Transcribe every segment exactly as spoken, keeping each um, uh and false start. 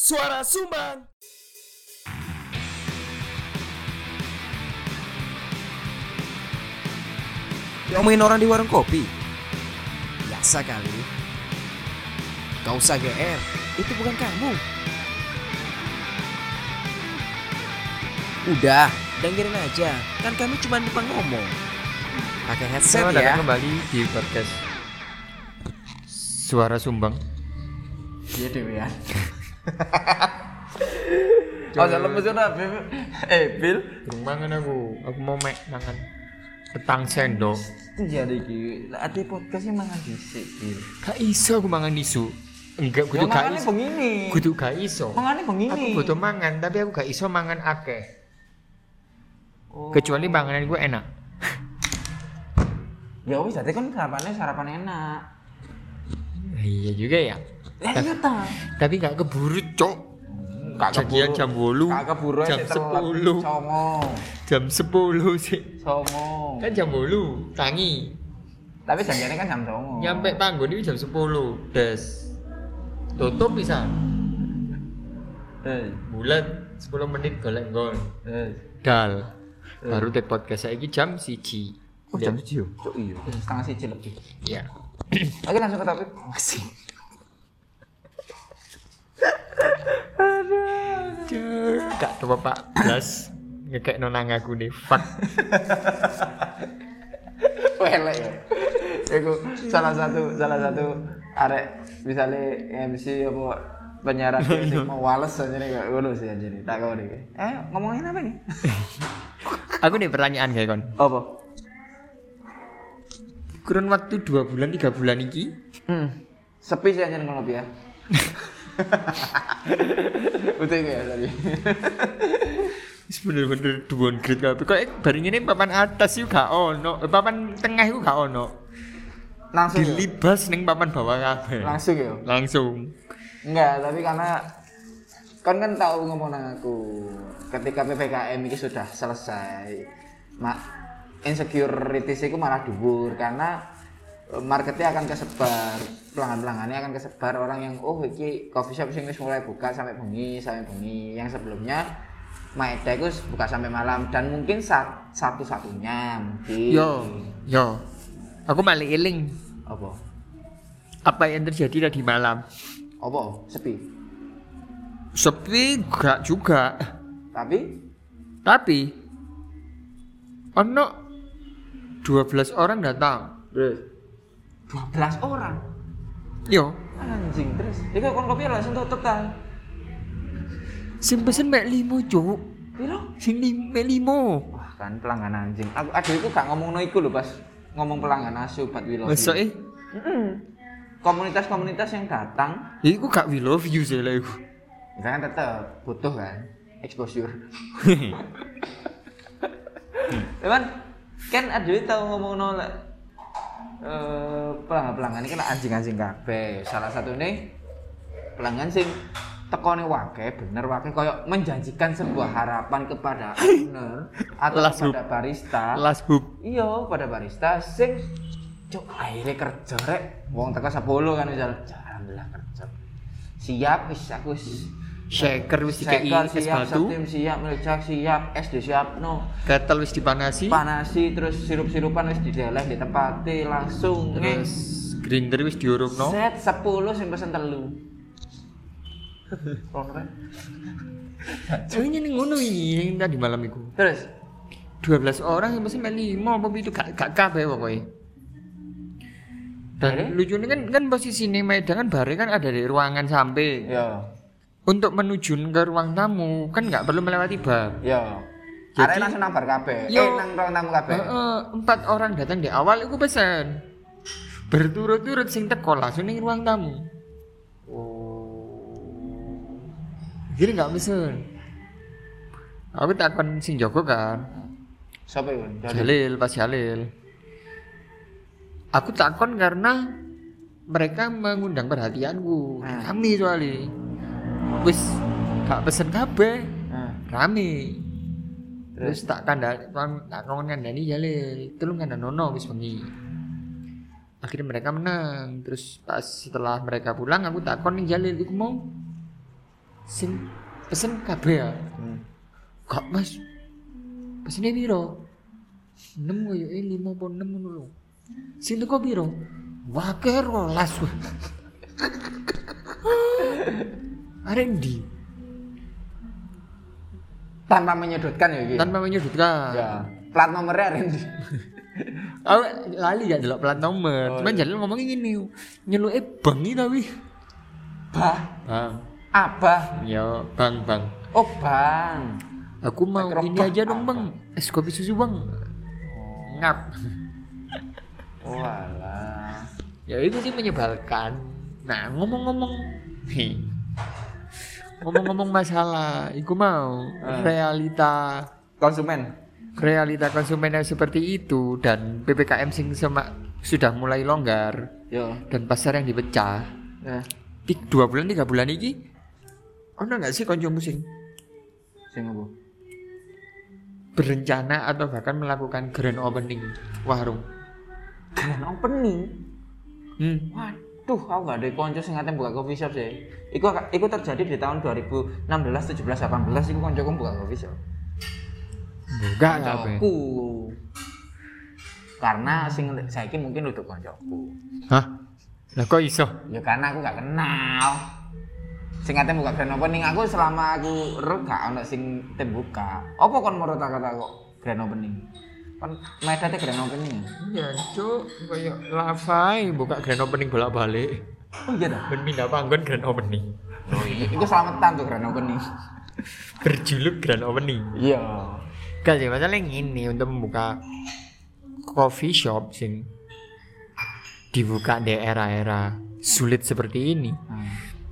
Suara Sumbang. Diomongin orang di warung kopi. Biasa kali. Gak usah G R, itu bukan kamu. Udah, dengerin aja. Kan kami cuma lupa ngomong. Pakai headset Selamat ya. datang kembali di podcast Suara Sumbang. Iya Dewi ya. Oh, salah mesin apa? Eh, Bil. Belum mangan aku. Aku mau mek mangan petang sendok. Jadi iki, ati podcastnya mangan dhisik, Bil. Gak iso aku mangan isu. Enggak, kudu gak iso. Begini. Kudu gak iso. Mangane Aku begini. butuh mangan, tapi aku gak iso mangan akeh. Oh. Kecuali panganan gue enak. Ya wis, dadi kan sarapannya sarapan enak. Iya juga ya. Ya iya ta. Tapi gak keburu, Cok. Gak Janjian jam delapan. Gak keburu Jam sik sepuluh. Songo. Jam sepuluh sih. Songo. Kan jam delapan, tangi. Tapi janjiannya kan jam songo. Nyampe panggon ini jam sepuluh. Des. Tutup bisa. Eh, Bulan sepuluh menit golek gol. eh. Dal. Baru take podcast saiki jam siji. Oh, jam tujuh. Cuk iya. Setengah siji lebih. Ya. Oke, langsung ke topik. Masih. Gak coba Pak Blas ngekek nonang aku nih. Fuck. Welek ya. Iku salah satu salah satu arek misalnya M C apa penyiaran sing mau wales aja nih kayak ngono sih aja nih. Tak kau nih. Eh ngomongin apa nih? Aku nih pertanyaan kayak kon. Apa? Kurun waktu dua bulan tiga bulan iki. Hmm. Sepi sih aja ngono ya. Betul ya tadi. Wis bener-bener duon grade kabeh. Kok bareng ini papan atas yuk gak ono, eh, papan tengah iku gak ono. Langsung ya? Dilibas ning papan bawah kabeh. Langsung ya? Langsung. Enggak, tapi karena kan kan tahu ngomong nang aku ketika P P K M ini sudah selesai mak insecurity itu malah dhuwur karena marketnya akan kesebar, pelanggan-pelanggannya akan kesebar, orang yang oh iki coffee shop sing wis mulai buka sampai bengi, sampai bengi. Yang sebelumnya Maeda itu buka sampai malam dan mungkin sat, satu-satunya mungkin. Yo, yo. Aku malah eling Apa? apa yang terjadi tadi malam. Apa? Sepi. Sepi gak juga. Tapi Tapi ono dua belas orang datang. terus dua belas orang. Yo, Anjing terus. Iku kon kopi langsung tutup ta. sing pesen mek limo, Cuk. Piro? Sing lim- mek limo. Wah kan pelanggan anjing. Aku adekku gak ngomongno iku lho pas ngomong pelanggan asu But We Love You. Masa eh? Heeh. Komunitas-komunitas yang datang, Iku gak we love you sih lah iku. kita kan tetap butuh kan exposure. Cuman kan adewe tau ngomongno lek eh pelanggan-pelanggan ini kan anjing-anjing kabeh. Salah satu nih pelanggan sing tekone wake, bener wake koyo menjanjikan sebuah harapan kepada owner atau Last kepada barista. Last hoop. Iya, pada barista sing cuk akhirnya kerja rek. Wong teko sepuluh kan misal, alhamdulillah kerja. Siap wis aku wis Shaker wis dikei Shaker es siap, batu. septim siap, melecak siap, es disiapno. Ketel wis dipanasi. Panasi terus sirup-sirupan wis dideleh ditempati langsung Terus grinder wis diurupno. set sepuluh sing pesen telu. Ronre. Soalnya ning ngono iki yang tadi malam iku. Terus dua belas orang yang pesen mek limo apa itu gak gak kabeh pokoknya. Dan Akhirnya? lucunya kan kan posisi ini Maeda kan bare kan ada di ruangan samping. ya, Untuk menuju ke ruang tamu kan nggak perlu melewati bar. ya. Jadi- Arek langsung nang bar kabeh. Yo. Eh nang ruang tamu kabeh. Heeh, empat orang datang di awal iku pesen. Berturut-turut sing teko langsung ning ruang tamu. Jadi nggak pesen. Aku takon sing jago kan. Siapa itu? Jalil, pas Jalil. Aku takon karena mereka mengundang perhatianku. Hmm. Rame soalnya. Wis gak pesen kabeh, Nah, rame. Terus tak kandha tak kon kandhani Jalil, tulung kandhanono wis bengi. Akhirnya mereka menang. Terus pas setelah mereka pulang aku takon ning Jalil iku mau sing pesen kabeh ya. Hmm. Kak Mas. Pesene piro? enam koyo e lima apa enam ngono lho. Sing teko piro? Wakeh rolas. Arek ndi? Tanpa menyudutkan ya iki. Tanpa menyudutkan. Ya. Plat nomornya Randy. Aku lali gak delok plat nomor. Oh, Cuman iya. jalur ngomongin gini, nyeluke bang iki ta wi. Bah, Bang. abah. Ya, bang, bang. Oh, bang. Aku mau Mikrofon ini aja dong, apa? Bang. Es kopi susu, Bang. Ngap. Oh, alah. Ya itu sih menyebalkan. Nah, ngomong-ngomong nih. Ngomong-ngomong masalah, iku mau Eh. realita Konsumen. realita konsumen yang seperti itu dan P P K M sing semak sudah mulai longgar Yo. dan pasar yang dipecah. Ya. Tik dua bulan tiga bulan ini ono nggak sih konco musing Sing apa? berencana atau bahkan melakukan grand opening warung? Grand opening. Hmm. Waduh, aku gak ada konco sing ngate buka coffee shop sih. Iku iku terjadi di tahun dua ribu enam belas, tujuh belas, delapan belas iku koncoku buka coffee shop. Enggak apa? Koncoku. Karena sing saiki mungkin untuk koncoku. Hah? Lah kok iso? Ya karena aku gak kenal. Sing ngate buka grand opening aku selama aku ero gak ono sing tem buka. Apa kon menurut kata kok grand opening? Kan medate grand opening. Iya, Cuk, kayak lavai buka grand opening bolak-balik. Oh iya dah. Ben pindah panggon grand opening. Oh iya, iku selamatan tuh grand opening. Berjuluk grand opening. Iya. Gak sih, masalahnya ini untuk membuka coffee shop sing dibuka di era-era sulit seperti ini. Hmm.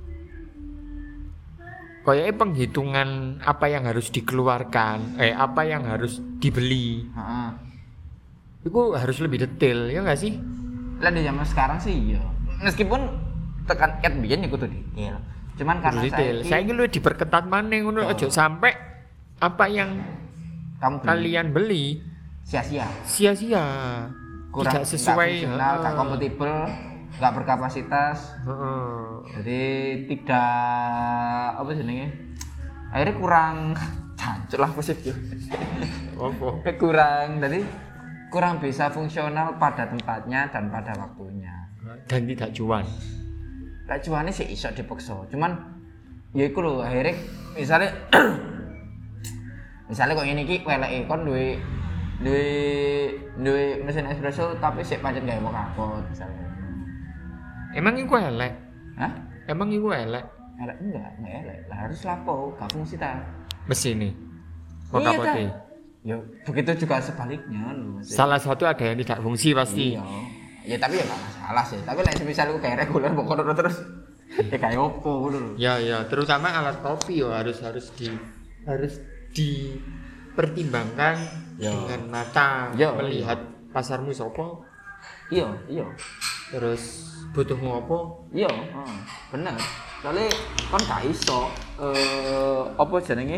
Kayaknya penghitungan apa yang harus dikeluarkan, eh apa yang harus dibeli, Heeh. itu harus lebih detail, ya nggak sih? Lah di zaman sekarang sih iya. Meskipun tekan ket biyen iku tuh detail. Cuman karena Harus detail. saiki Saya ingin lu diperketat mana ngono, Oh. ojo sampai apa yang kamu beli kalian beli sia-sia. sia-sia, Kurang tidak sesuai, nggak fungsional, nggak heeh. kompatibel, nggak berkapasitas. Heeh. Jadi tidak apa jenenge? Akhirnya kurang jancuk lah positif. Apa? kurang jadi kurang bisa fungsional pada tempatnya dan pada waktunya. Dan tidak cuan. Lah cuane sih iso dipaksa. Cuman ya iku lho akhirnya misalnya misalnya kok ngene iki weleke kon duwe duwe duwe mesin espresso tapi sik pancen gawe kapot misalnya. Emang iku elek? Hah? Emang iku elek? Elek enggak, enggak elek. Lah harus lapo, gak fungsi ta. Mesin nih. Kok Iya, kapote? ta. Ya begitu juga sebaliknya lho. Mas. Salah satu ada yang tidak fungsi pasti. Iya. Ya tapi ya gak masalah sih. Tapi lek semisal aku kayak reguler pokoknya terus ya kayak opo ngono lho. Ya ya, terutama alat kopi yo harus harus di harus dipertimbangkan Ya. dengan mata, Ya, melihat pasarmu sopo, Iya, iya. terus butuhmu apa. Iya, heeh. Bener. Soalnya kan gak iso eh apa jenenge?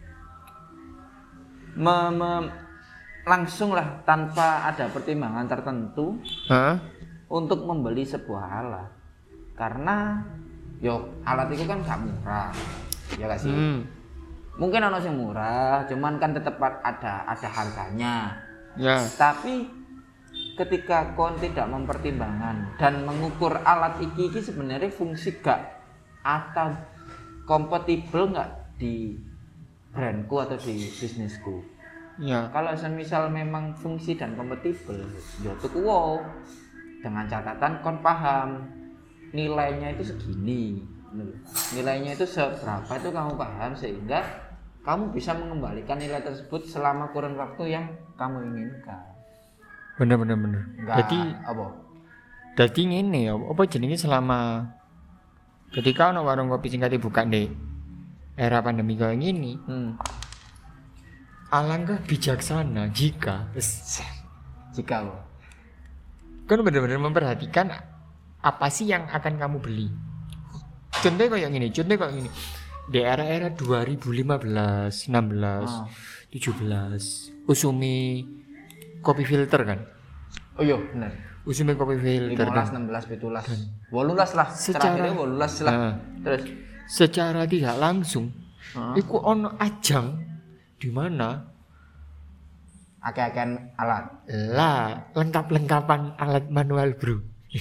Me, me- langsung lah tanpa ada pertimbangan tertentu Hah? untuk membeli sebuah alat. Karena yo alat itu kan gak murah. Ya gak sih? Hmm. Mungkin ono sing murah, cuman kan tetap ada ada harganya. Ya. Tapi ketika kon tidak mempertimbangkan dan mengukur alat iki iki sebenarnya fungsi gak atau kompatibel nggak di brandku atau di bisnisku. Ya. Kalau semisal memang fungsi dan kompatibel, ya tuku wow. Dengan catatan kon paham nilainya itu segini. Nilainya itu seberapa itu kamu paham sehingga kamu bisa mengembalikan nilai tersebut selama kurun waktu yang kamu inginkan. Bener bener bener. Enggak Jadi apa? jadi ngene ya, apa jenenge selama ketika ono warung kopi sing kate buka nih era pandemi kayak gini, Hmm. alangkah bijaksana jika Jika lo. kan benar-benar memperhatikan apa sih yang akan kamu beli. Contohnya kayak gini, contohnya kayak gini. Di era-era dua ribu lima belas, enam belas, Ah. tujuh belas, Usumi kopi filter kan. Oh iya benar. Usumi kopi filter lima belas, kan. enam belas, tujuh belas, delapan belas lah. Secara- Terakhirnya delapan belas lah. Nah. Terus secara tidak langsung Heeh. iku ono ajang di mana Akeh-akehan alat. lah lengkap-lengkapan alat manual bro.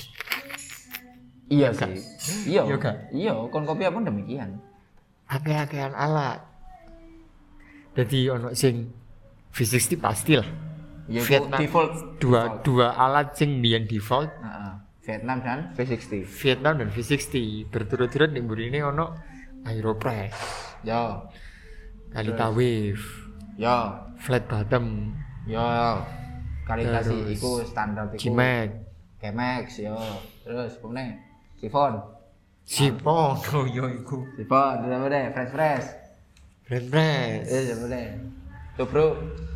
Iya Kan? sih. Iya. Iya kan? Iya, kon kopi pun demikian. Akeh-akehan alat. Jadi ono sing V enam puluh pasti lah. Ya itu Vietnam default dua default. dua alat sing biyen default Heeh. Vietnam dan V enam puluh. Vietnam dan V enam puluh berturut-turut ning mburine ono Aeropress, Yo. Kalita Wave, Yo. Flat Bottom, Yo. Kalibrasi Terus, iku standar iku. G-Max, G-Max yo. Terus pemene Sifon. Sipon, oh yo iku. Sifon, udah udah fresh fresh. Brand Press. Eh, udah udah. Tuh, Bro.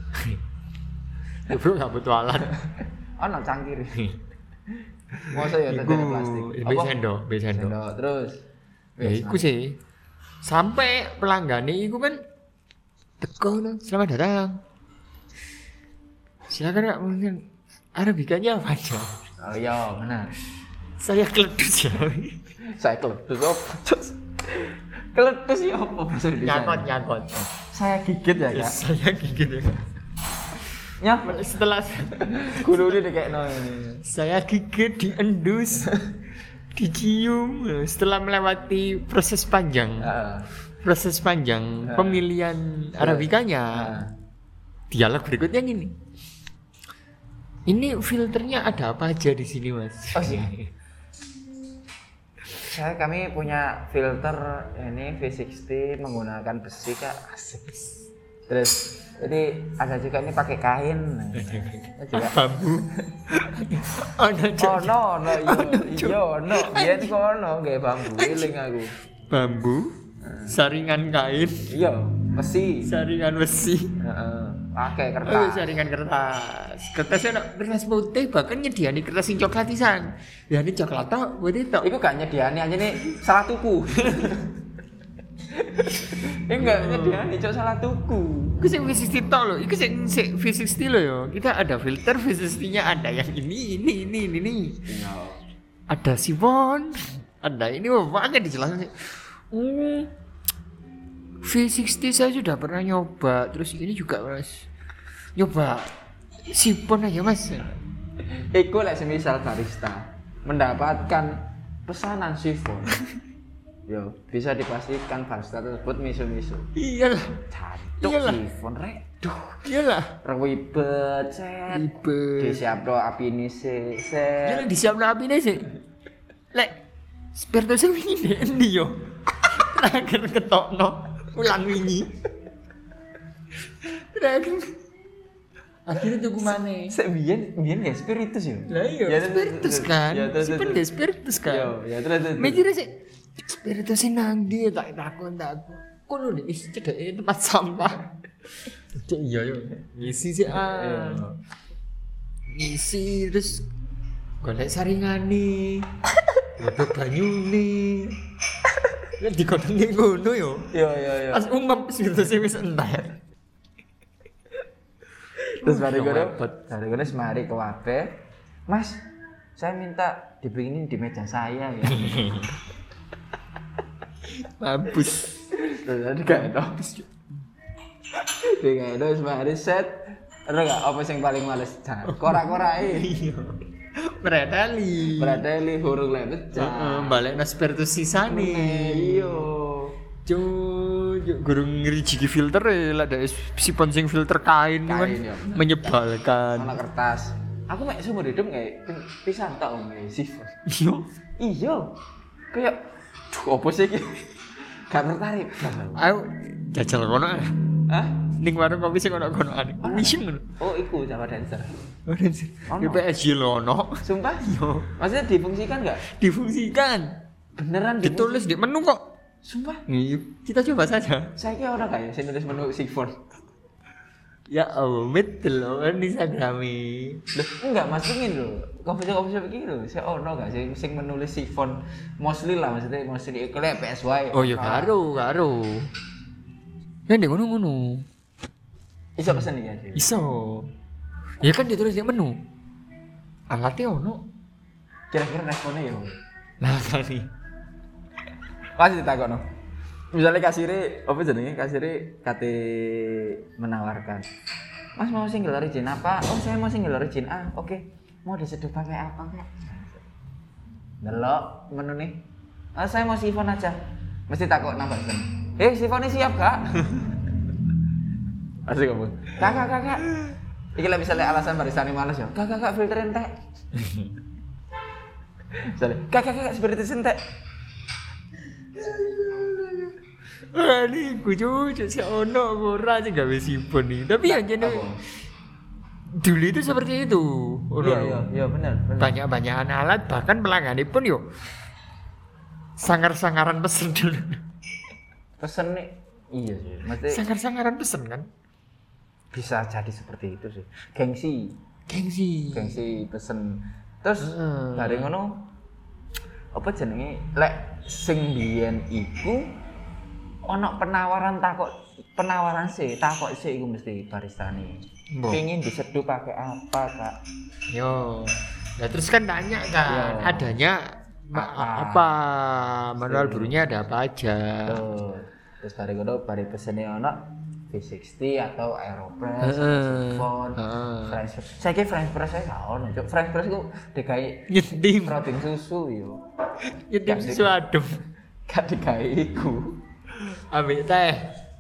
Ya bro gak butuh alat. Ono cangkir. Masa ya Iku tadi plastik. B sendok, B sendok. Sendok terus. Ya iku sih. Sampai pelanggan iku kan teko no, selamat datang. Silakan Kak, mungkin Arabikanya apa aja? Oh iya, benar. Saya keledus ya. Saya keledus apa? Keledus ya apa bahasa Indonesia? Nyakot, nyakot. Saya gigit ya, Kak. Saya gigit ya. Ya, Setelah kudu ini kayak no ini. saya gigit, diendus, dicium, setelah melewati proses panjang, Heeh. proses panjang pemilihan Arabikanya, dialog berikutnya gini. Ini filternya ada apa aja di sini, Mas? Oh, iya. Saya kami punya filter ini V enam puluh menggunakan besi, Kak. Asik. Terus jadi ada juga ini pakai kain. Juga Bambu. Ada oh no no yo yo no biyen kono nggih bambu eling aku. bambu, saringan kain, Iya, besi. saringan besi. Heeh. Pakai Oh, kertas. saringan kertas. Kertasnya nak kertas putih, bahkan nyediani kertas sing coklat pisan. Ya ini coklat tok, putih tok. Iku gak nyediani aja nih salah tuku. Ini enggak nyediani cok salah tuku. Iku sing V enam puluh tok lho, iku sing sing V enam puluh lho ya. Kita ada filter V enam puluh-nya ada yang ini, ini, ini, ini, ini. Iya. Ada sifon, ada ini banyak dijelasin. Hmm. V enam puluh saya sudah pernah nyoba, terus ini juga Mas. Nyoba sifon aja Mas. Iku lek semisal barista mendapatkan pesanan sifon. Yo, bisa dipastikan barista tersebut misu-misu. Iyalah, Cantuk Iyalah. sifon rek. Duh, iyalah. ribet set. Ribet. Disiapno api ini sih Iyalah set. disiapno apine sih. Lek spirtu sing wingi endi yo? Terakhir ketokno ulang wingi. Terakhir akhirnya tuku maneh. Sek biyen biyen ya spiritus yo. Lah iya, Ya, terus, spiritus terus, kan. ya, terus, Simpen terus. dia spiritus kan. Yo, ya terus terus. Mikirnya sih spiritus sing nang ndi tak takon takon. Kono nih isi cedeke tempat sampah. Cek iya yo. Ngisi sih ah. Ngisi terus golek saringane. Godhog banyune. Kan dikodongi ngono yo. Yo yo yo. Pas umum spiritus wis entek. Terus mari Yang kono, repot. mari kono semari ke wabe. Mas, saya minta dibikinin di meja saya ya. Mampus. Terus ada gak ada. Dia gak ada semari set. Ada gak apa sing paling males? Korak-korai. Predali. Beradeli huruf le Heeh, pecah. balik na spiritus sisane. Iyo. Cuk, gurung ngerijiki filter e, lah ada sipon sing filter kain, kan Kain, ya. menyebalkan. Mana kertas. Aku mek seumur hidup kayak pisan tak om sifon. Yo, Iya. Kayak duh apa sih iki? Gak tertarik. ayo jajal kono. ah. Hah? Ning warung kopi sing ono konoan. Mission ngono. Oh, iku Java Dancer. Ora sih. Ono. P S G lo ono. Sumpah? Yo, Maksudnya difungsikan nggak? difungsikan. Beneran Ditulis di menu kok. Sumpah? Iya, kita coba saja. Saya kira orang kayak saya nulis menu sifon. Ya Allah, betul loh di Instagrami. Loh, enggak masukin loh. Coffee shop coffee shop iki lho. Saya ono gak sih sing menulis sifon mostly lah maksudnya mostly iku lek P S Y. Oh ya karo, karo. Ya ndek ngono-ngono. Iso pesen iki aja. Iso. Ya kan ditulis di menu. Alatnya ono. Kira-kira responnya ya. Lah kali. Pasti ditakokno. Misalnya kasire apa jenenge kasire kate menawarkan. Mas mau single origin apa? Oh saya mau single origin. Ah oke. Okay. Mau diseduh pakai apa kak? Delok menu nih. Ah saya mau sifon aja. Mesti takut nambah sen. Eh sifonnya siap kak? Asik kamu. Kakak kakak. Iki lah misalnya alasan baristane males ya. Kakak kakak filter entek. Misalnya kakak kakak seperti itu entek. Ah, ini gue cucu si ono ora aja gak bisa sipon nih. Tapi yang jadi dulu itu seperti itu. Iya iya iya benar. Banyak-banyakan alat bahkan pelanggan pun yo sangar-sangaran pesen dulu. Pesen nih iya sih. Mesti Sangar-sangaran pesen kan. bisa jadi seperti itu sih. Gengsi, Gengsi. gengsi pesen. Terus Heeh. bareng ngono apa jenenge lek sing biyen iku ono penawaran takok penawaran sih takok sih iku mesti baristane. Mbok. Pengen diseduh pakai apa kak? Yo. Nah terus kan tanya kan Yo. adanya ma- Apa? apa manual burunya ada apa aja. Tuh. Terus bareng ngono bareng pesene ono V enam puluh atau Aeropress, Heeh. Sifon, Heeh. French press. Saya kira French press saya gak ono, Cuk. French press ku digawe Nyetim. protein susu yo. Nyetim susu adem. Gak digawe iku. Ambil teh.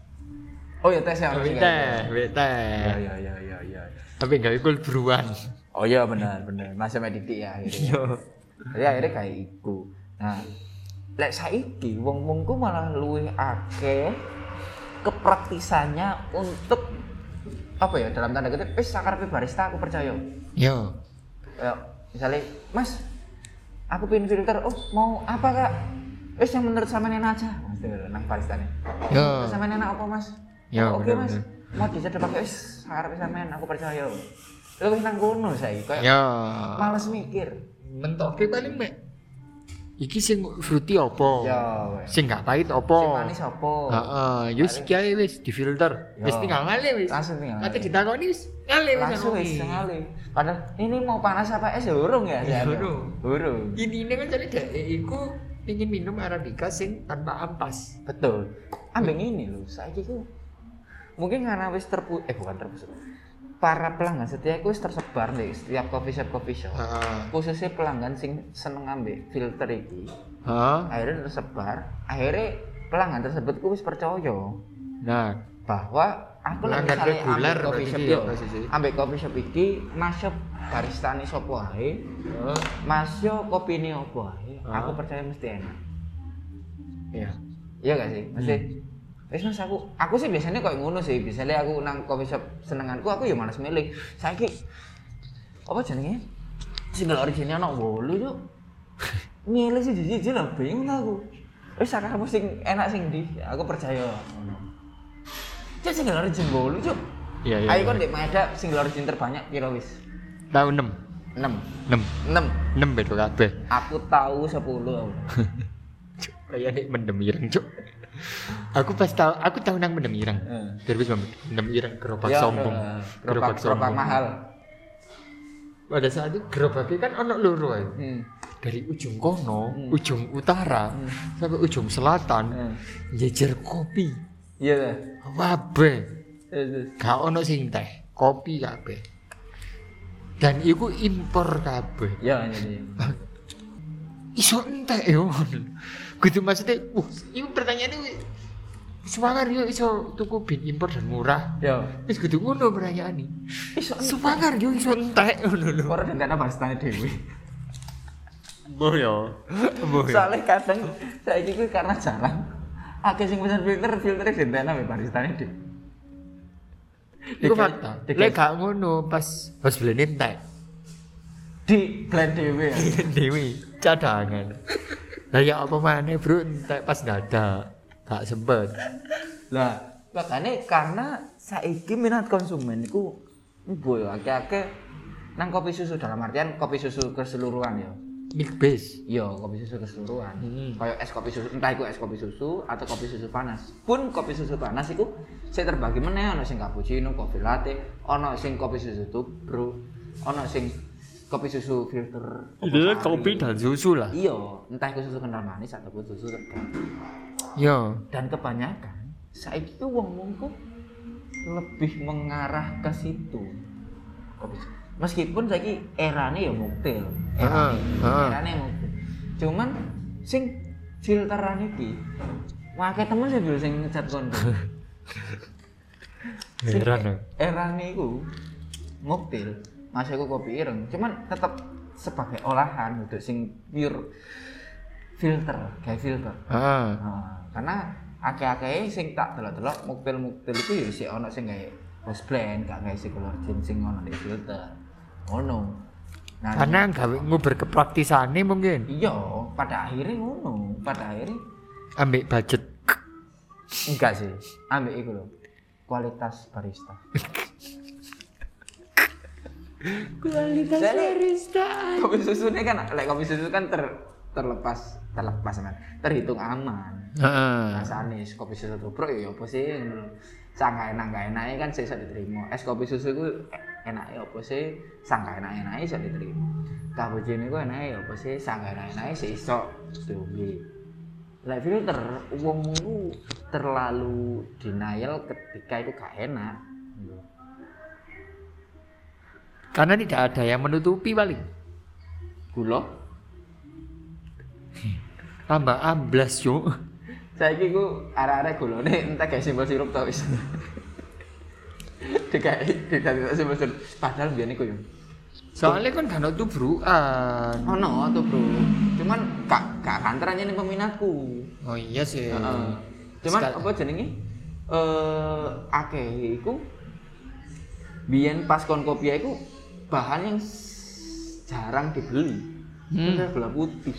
Oh ya tes ya harus Ambil digawe. teh, ambil teh. Ya ya ya ya ya. Tapi enggak ikut beruan. Oh iya benar benar. Masih medidik ya akhirnya. Yo. Jadi akhirnya kayak iku. Nah, lek saiki wong-wong ku malah luwih akeh kepraktisannya untuk apa ya dalam tanda kutip wis sakarepe barista aku percaya. Yo. Ya, misalnya, Mas, aku pengen filter. Oh, mau apa kak? Wis yang menurut sampean enak aja. Mesti nang baristane. Yo. Menurut sampean enak apa Mas? Ya, Oh, oke bener, Mas. bener. Mau diseduh pakai wis sakarepe sampean aku percaya. Luwih nang kono saiki kayak Yo. males mikir. Mentoke paling mek. Iki sing fruity opo? Ya, wes. Sing gak pahit Sing opo? manis apa? Heeh, yo wis iki ae wis difilter. Yo. Wis tinggal ngale wis. Langsung tinggal Ate ngale. ditakoni wis ngale wis. Langsung ngopi. wis sekali. Padahal ini mau panas apa es ya urung ya? Ya, saya? urung. Urung. Inine kan jadi dek iku ingin minum arabica sing tanpa ampas. Betul. Ambek ini lho, saiki ku mungkin karena wis terpu eh bukan terpusat. Para pelanggan setia ku wis tersebar nih setiap coffee shop coffee shop. Heeh. Khususnya pelanggan sing seneng ambek filter iki. Heeh. Akhirnya tersebar, akhirnya pelanggan tersebut ku wis percaya Nah, bahwa aku lagi Pelanggan misalnya reguler ambek coffee berarti shop iki ya, yo. posisi. Ambek coffee shop iki masuk baristane sapa wae. heeh. Mas yo kopine opo wae. Ah. Aku percaya mesti enak. Iya. Iya gak sih? Mesti wis Mas aku aku sih biasanya kayak ngono sih. Biasanya aku nang coffee shop senenganku aku ya malas milih. Saiki apa jenenge? Single originnya ono wolu yo. Milih sih jiji lah bingung aku. Wis sakarepmu sing enak sing ndi? Aku percaya ngono. Cek single origin wolu, Cuk. Iya, iya. Ayo kon Dek Maeda single origin terbanyak piro wis? Tahu enam. enam. enam. enam. enam bedo kabeh. Aku tahu sepuluh. Kayak nek mendem ireng, Cuk. Aku pas tahu, aku tahu nang mendem ireng. Heeh. Terus mendem ireng gerobak Ya, sombong. eh, Gerobak gerobak gerobak sombong. mahal. Pada saat itu gerobaknya kan ono loro ae. Hmm. Dari ujung kono, Hmm. ujung utara sampai ujung selatan Hmm. jejer kopi. Iya ta. Wabe. Terus. Gak ono sing teh, kopi kabeh. Dan iku impor kabeh. Ya jadi. Iso entek yo. Gitu maksudnya, uh, itu pertanyaannya wi- Semangar yo iso tuku bin impor dan murah. Ya. Wis kudu ngono pertanyaane. Iso Semangar yo iso entek ngono lho. ora dendana baristane dhewe. Mbah yo. Mbah yo. Soalnya kadang saiki kuwi karena jarang akeh sing pesen filter, filtere dendana mbek baristane dhewe. Iku fakta. Lek gak ngono pas pas blend entek. Di blend dhewe ya. Dewi cadangan. Lah ya apa maneh bro entek pas dadak. Gak sempet. Lah, makanya karena saiki minat konsumen iku mboyo akeh-akeh nang kopi susu dalam artian kopi susu keseluruhan ya. Milk base. Iya, kopi susu keseluruhan. Hmm. Kayak es kopi susu, entah itu es kopi susu atau kopi susu panas. Pun kopi susu panas iku sing terbagi meneh ana sing cappuccino, kopi latte, ana sing kopi susu tubruk, ana sing kopi susu filter. Itu Sari. kopi dan susu lah. Iya, entah itu susu kental manis ataupun susu terbang. Yo. Dan kebanyakan saiki ku wong-wong ku lebih mengarah ke situ. Meskipun saiki erane ya mobil, Heeh, heeh. erane mobil. Cuman sing filteran iki wae temen sih sing ngecat kon. Heran ya. Erane iku mobil, masih aku kopi ireng, cuman tetap sebagai olahan untuk sing pure filter, kayak filter. Heeh. Nah, karena akeh-akeh sing tak delok-delok mobil-mobil itu ya sik ono sing gawe house blend, gak gawe circular gin sing ono di filter. Ngono. Nah, Karena gawe nguber kepraktisane mungkin. iya, pada akhirnya ngono, pada akhirnya Ambek budget. enggak sih, ambek iku lho. Kualitas barista. Kualitas barista. Kopi susunya kan, lek kopi susu kan ter terlepas terlepas kan, terhitung aman. Heeh. Rasane kopi susu tubruk ya apa sih? Sangka enak gak enake kan sih iso diterima. Es kopi susu ku enake apa sih? Sangka enak-enake iso diterima. Cappuccino ku enake apa sih? Sangka enak-enake sih iso diombe. Lek filter wong ku terlalu denial ketika itu gak enak. Karena tidak ada yang menutupi paling. Gula Tambah amblas, Cuk. saiki ku arek-arek gulane entek gawe simbol sirup to wis. Digawe digawe simbol sirup padahal biyen iku yo. Soalnya kan gak ono tubrukan. Ono tuh, Bro. Cuman gak gak kantor aja nih peminatku. Oh iya sih. Heeh. Cuman Sekal- apa jenenge? Eh akeh iku biyen pas kon kopi iku bahan yang s- jarang dibeli. Hmm. Itu gula putih.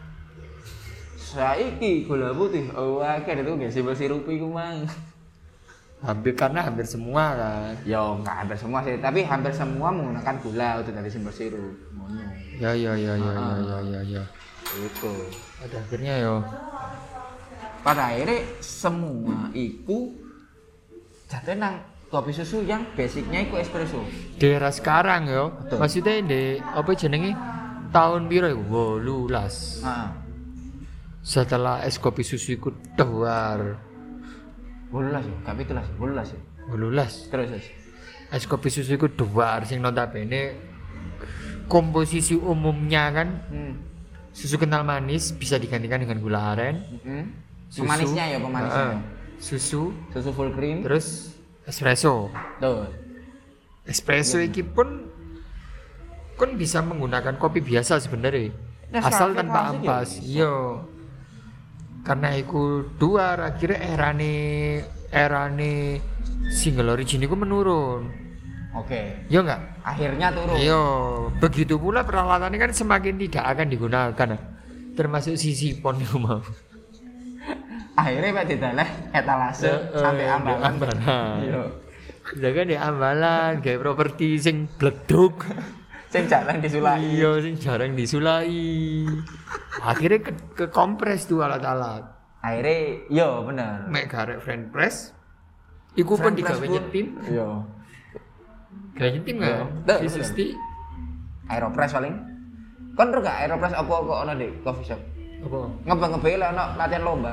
Saiki gula putih, oh akeh itu gak simbol sirup iku mang. Hampir karena hampir semua kan. Yo enggak hampir semua sih, tapi hampir semua menggunakan gula untuk dari simbol sirup. Ngono. Ya ya ya ya ya ya ya ya. Itu. Pada akhirnya yo. Pada akhirnya semua iku jatuh nang kopi susu yang basicnya iku espresso. Di era sekarang yo. Betul. Maksudnya di apa jenenge? Tahun piro iku? wolulas. Heeh. Setelah es kopi susu iku dewar. Wolulas ya, gak pitulas ya, wolulas ya. wolulas. Terus terus. Es kopi susu iku dewar sing notabene komposisi umumnya kan Hmm. susu kental manis bisa digantikan dengan gula aren. Heeh. Susu. Pemanisnya ya, pemanisnya. Heeh. Susu, Susu full cream. terus espresso. Tuh. Espresso iki pun kan bisa menggunakan kopi biasa sebenarnya. Nah, Asal Nescafe tanpa klasik ya ampas. bisa. Iya. Karena iku dua akhirnya erane erane single origin iku menurun. Oke. Iya enggak? Akhirnya turun. Iya, begitu pula peralatannya kan semakin tidak akan digunakan. Termasuk sisipon itu mau. Akhirnya Pak didaleh etalase sampai ambalan. Ambalan. Iya. Jangan di ambalan kayak properti sing bleduk. Sing jarang disulai. Iya, sing jarang disulai. Akhirnya ke, ke kompres tuh alat-alat. Akhirnya, iya bener. Mek garek friend press. Iku pun Friend digawe press pun- nyetim. Iya. Gawe nyetim Iya. kan? Betul, V enam puluh. Aeropress paling. Kon ro gak Aeropress apa kok ono di coffee shop? Apa? Ngebang-ngebel ono latihan lomba.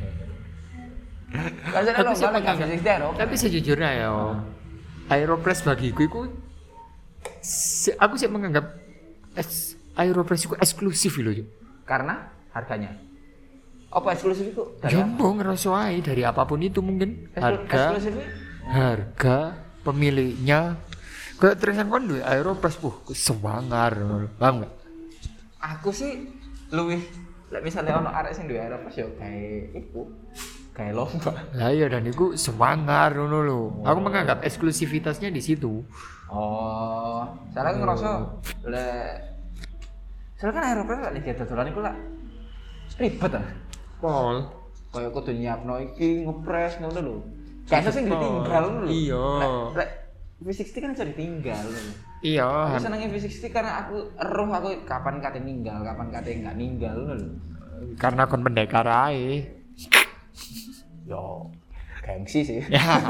Kan saya Tapi lomba siapa lagi yang- fisik Aeropress. Tapi sejujurnya ya, Aeropress bagiku itu se- aku sih menganggap es, Aeropress itu eksklusif loh. Cuk. Karena harganya. Apa eksklusif itu? Dari apa? Jombo ngerasa ae dari apapun itu mungkin Eksklu- harga Eksklusifnya? harga pemiliknya kayak terusan kon duwe Aeropress puh sewangar paham enggak? Aku sih luwih lek misalnya ono arek sing duwe Aeropress yo kayak iku. Kayak lomba. Lah iya dan itu sewangar ngono lho. Aku menganggap eksklusivitasnya di situ. Oh, soalnya aku ngerasa lek soalnya kan Aeropress lek lihat dodolan iku lah ribet ah. Pol. Kayak kudu nyiapno iki ngepres ngono lho. Kayak sing ditinggal ngono lho. Iya. Lek lek V enam puluh kan bisa ditinggal lho. Iya. Aku senengnya V enam puluh karena aku eruh aku kapan kate ninggal, kapan kate enggak ninggal ngono lho. Karena kon pendekar ae. Yo, gengsi sih.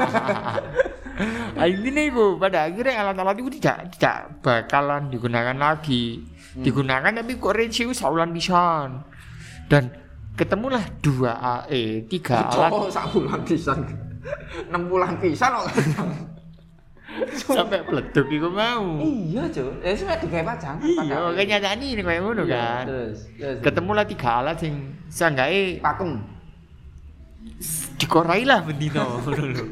Nah, ini nih bu, pada akhirnya alat-alat itu tidak tidak bakalan digunakan lagi. Hmm. Digunakan tapi kok range itu saulan pisan. Dan ketemulah dua A E tiga alat Oh, sak bulan pisan. enam bulan pisan kok. sampai pleduk iku mau. Iya, Cuk. Ya sampe digawe pajang. Iya, kenyataane ini kayak ngono kan. Terus, terus. Ketemulah tiga alat sing sanggae pakem. dikorai lah bendino ngono lho.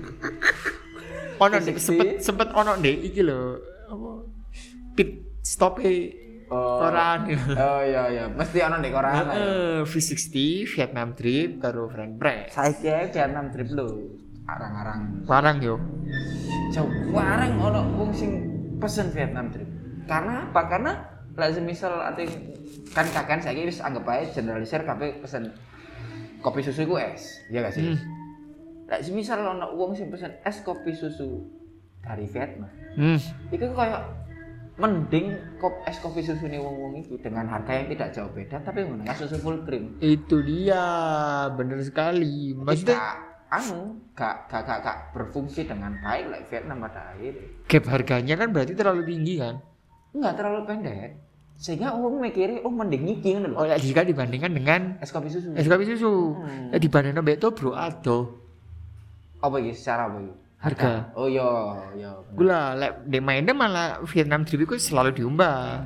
Ono ndek sempet sempet ono ndek iki lho apa pit stop e koran. Oh iya iya, mesti ono ndek koran. Heeh, V enam puluh Vietnam trip karo friend break. Saiki ae Vietnam trip lho. Arang-arang. Parang yo. Jauh warang ono wong sing pesen Vietnam trip. Karena apa? Karena lek semisal ati kan kakan saiki wis anggap ae generalisir kabeh pesen kopi susu iku es. Iya gak sih? Hmm. Lek semisal ono wong sing pesen es kopi susu dari Vietnam. Hmm. Iku kayak mending kop es kopi susu nih wong-wong itu dengan harga yang tidak jauh beda tapi menggunakan susu full cream. Itu dia, bener sekali. Maksudnya anu gak gak gak gak berfungsi dengan baik like Vietnam pada akhirnya. Gap harganya kan berarti terlalu tinggi kan? Enggak terlalu pendek. Sehingga orang mikirnya oh mending iki ngono lho. Oh ya jika dibandingkan dengan es kopi susu. Es kopi susu. Hmm. Ya dibandingkan mbek to bro ado. Apa iki secara apa iki? Harga. Oh iya, iya. Gula lek de mainnya malah Vietnam trip iku selalu diumbah.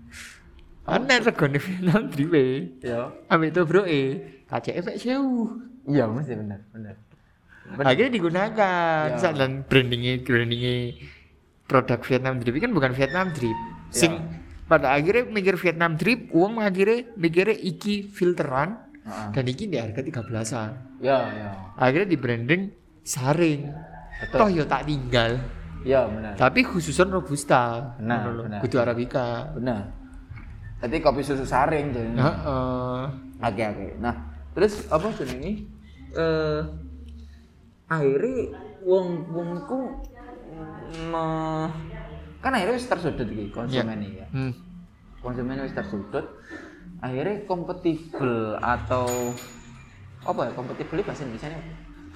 Ana oh, regane Vietnam trip e. Iya. Ambek to bro e, K C F sewu. Iya, mesti bener, bener. Bener. Akhirnya digunakan ya. Dan brandingnya brandingnya produk Vietnam trip kan bukan Vietnam trip. Sing ya. Pada akhirnya mikir Vietnam trip, uang akhirnya mikirnya iki filteran uh-huh. Dan iki di harga tiga belasan. Ya, ya. Akhirnya di branding saring. Betul. Toh yo tak tinggal. Ya benar. Tapi khususan robusta. Benar, benar. Kudu arabica. Benar. Tapi kopi susu saring jadi. Heeh. Uh-uh. Oke oke. Nah, terus apa jenenge? Eh uh, akhirnya wong wongku me kan akhirnya wis tersudut iki konsumen iki ya. Hmm. Konsumen wis tersudut. Akhirnya kompatibel atau apa ya? Kompatibel bahasa Indonesianya apa?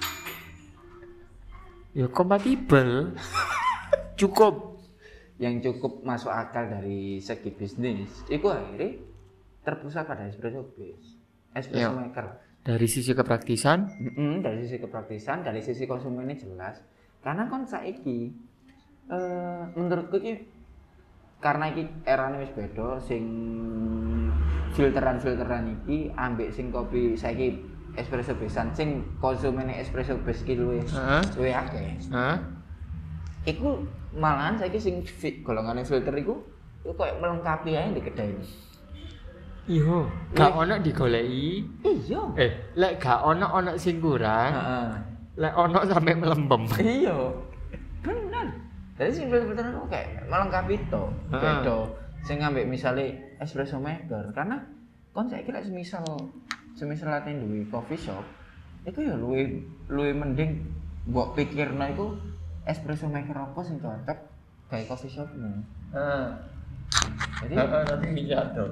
Ya kompatibel. Cukup yang cukup masuk akal dari segi bisnis. Iku akhirnya terpusat pada espresso base. Espresso ya. Maker. Dari sisi kepraktisan, mm-hmm, dari sisi kepraktisan, dari sisi konsumennya jelas. Karena kan saiki uh, menurutku iki karena iki erane wis beda sing filteran-filteran iki ambek sing kopi saiki espresso besan sing konsumennya espresso base iki luwih luwih akeh. Heeh. Iku malahan saiki sing golongane filter iku iku koyo melengkapi ae di kedai ini. Iya, gak ono digoleki. Iya. Eh, lek gak ono ono sing kurang. Heeh. Lek ono sampe melempem. Iya. Bener. Jadi sing filter itu kayak melengkapi to. Beda sing ngambek misale espresso maker karena kon saiki lek semisal semisal ate duwe coffee shop, iku ya luwih luwih mending mbok pikirno iku espresso maker apa sing cocok gawe coffee shopmu. Heeh. Jadi heeh nanti minyak to.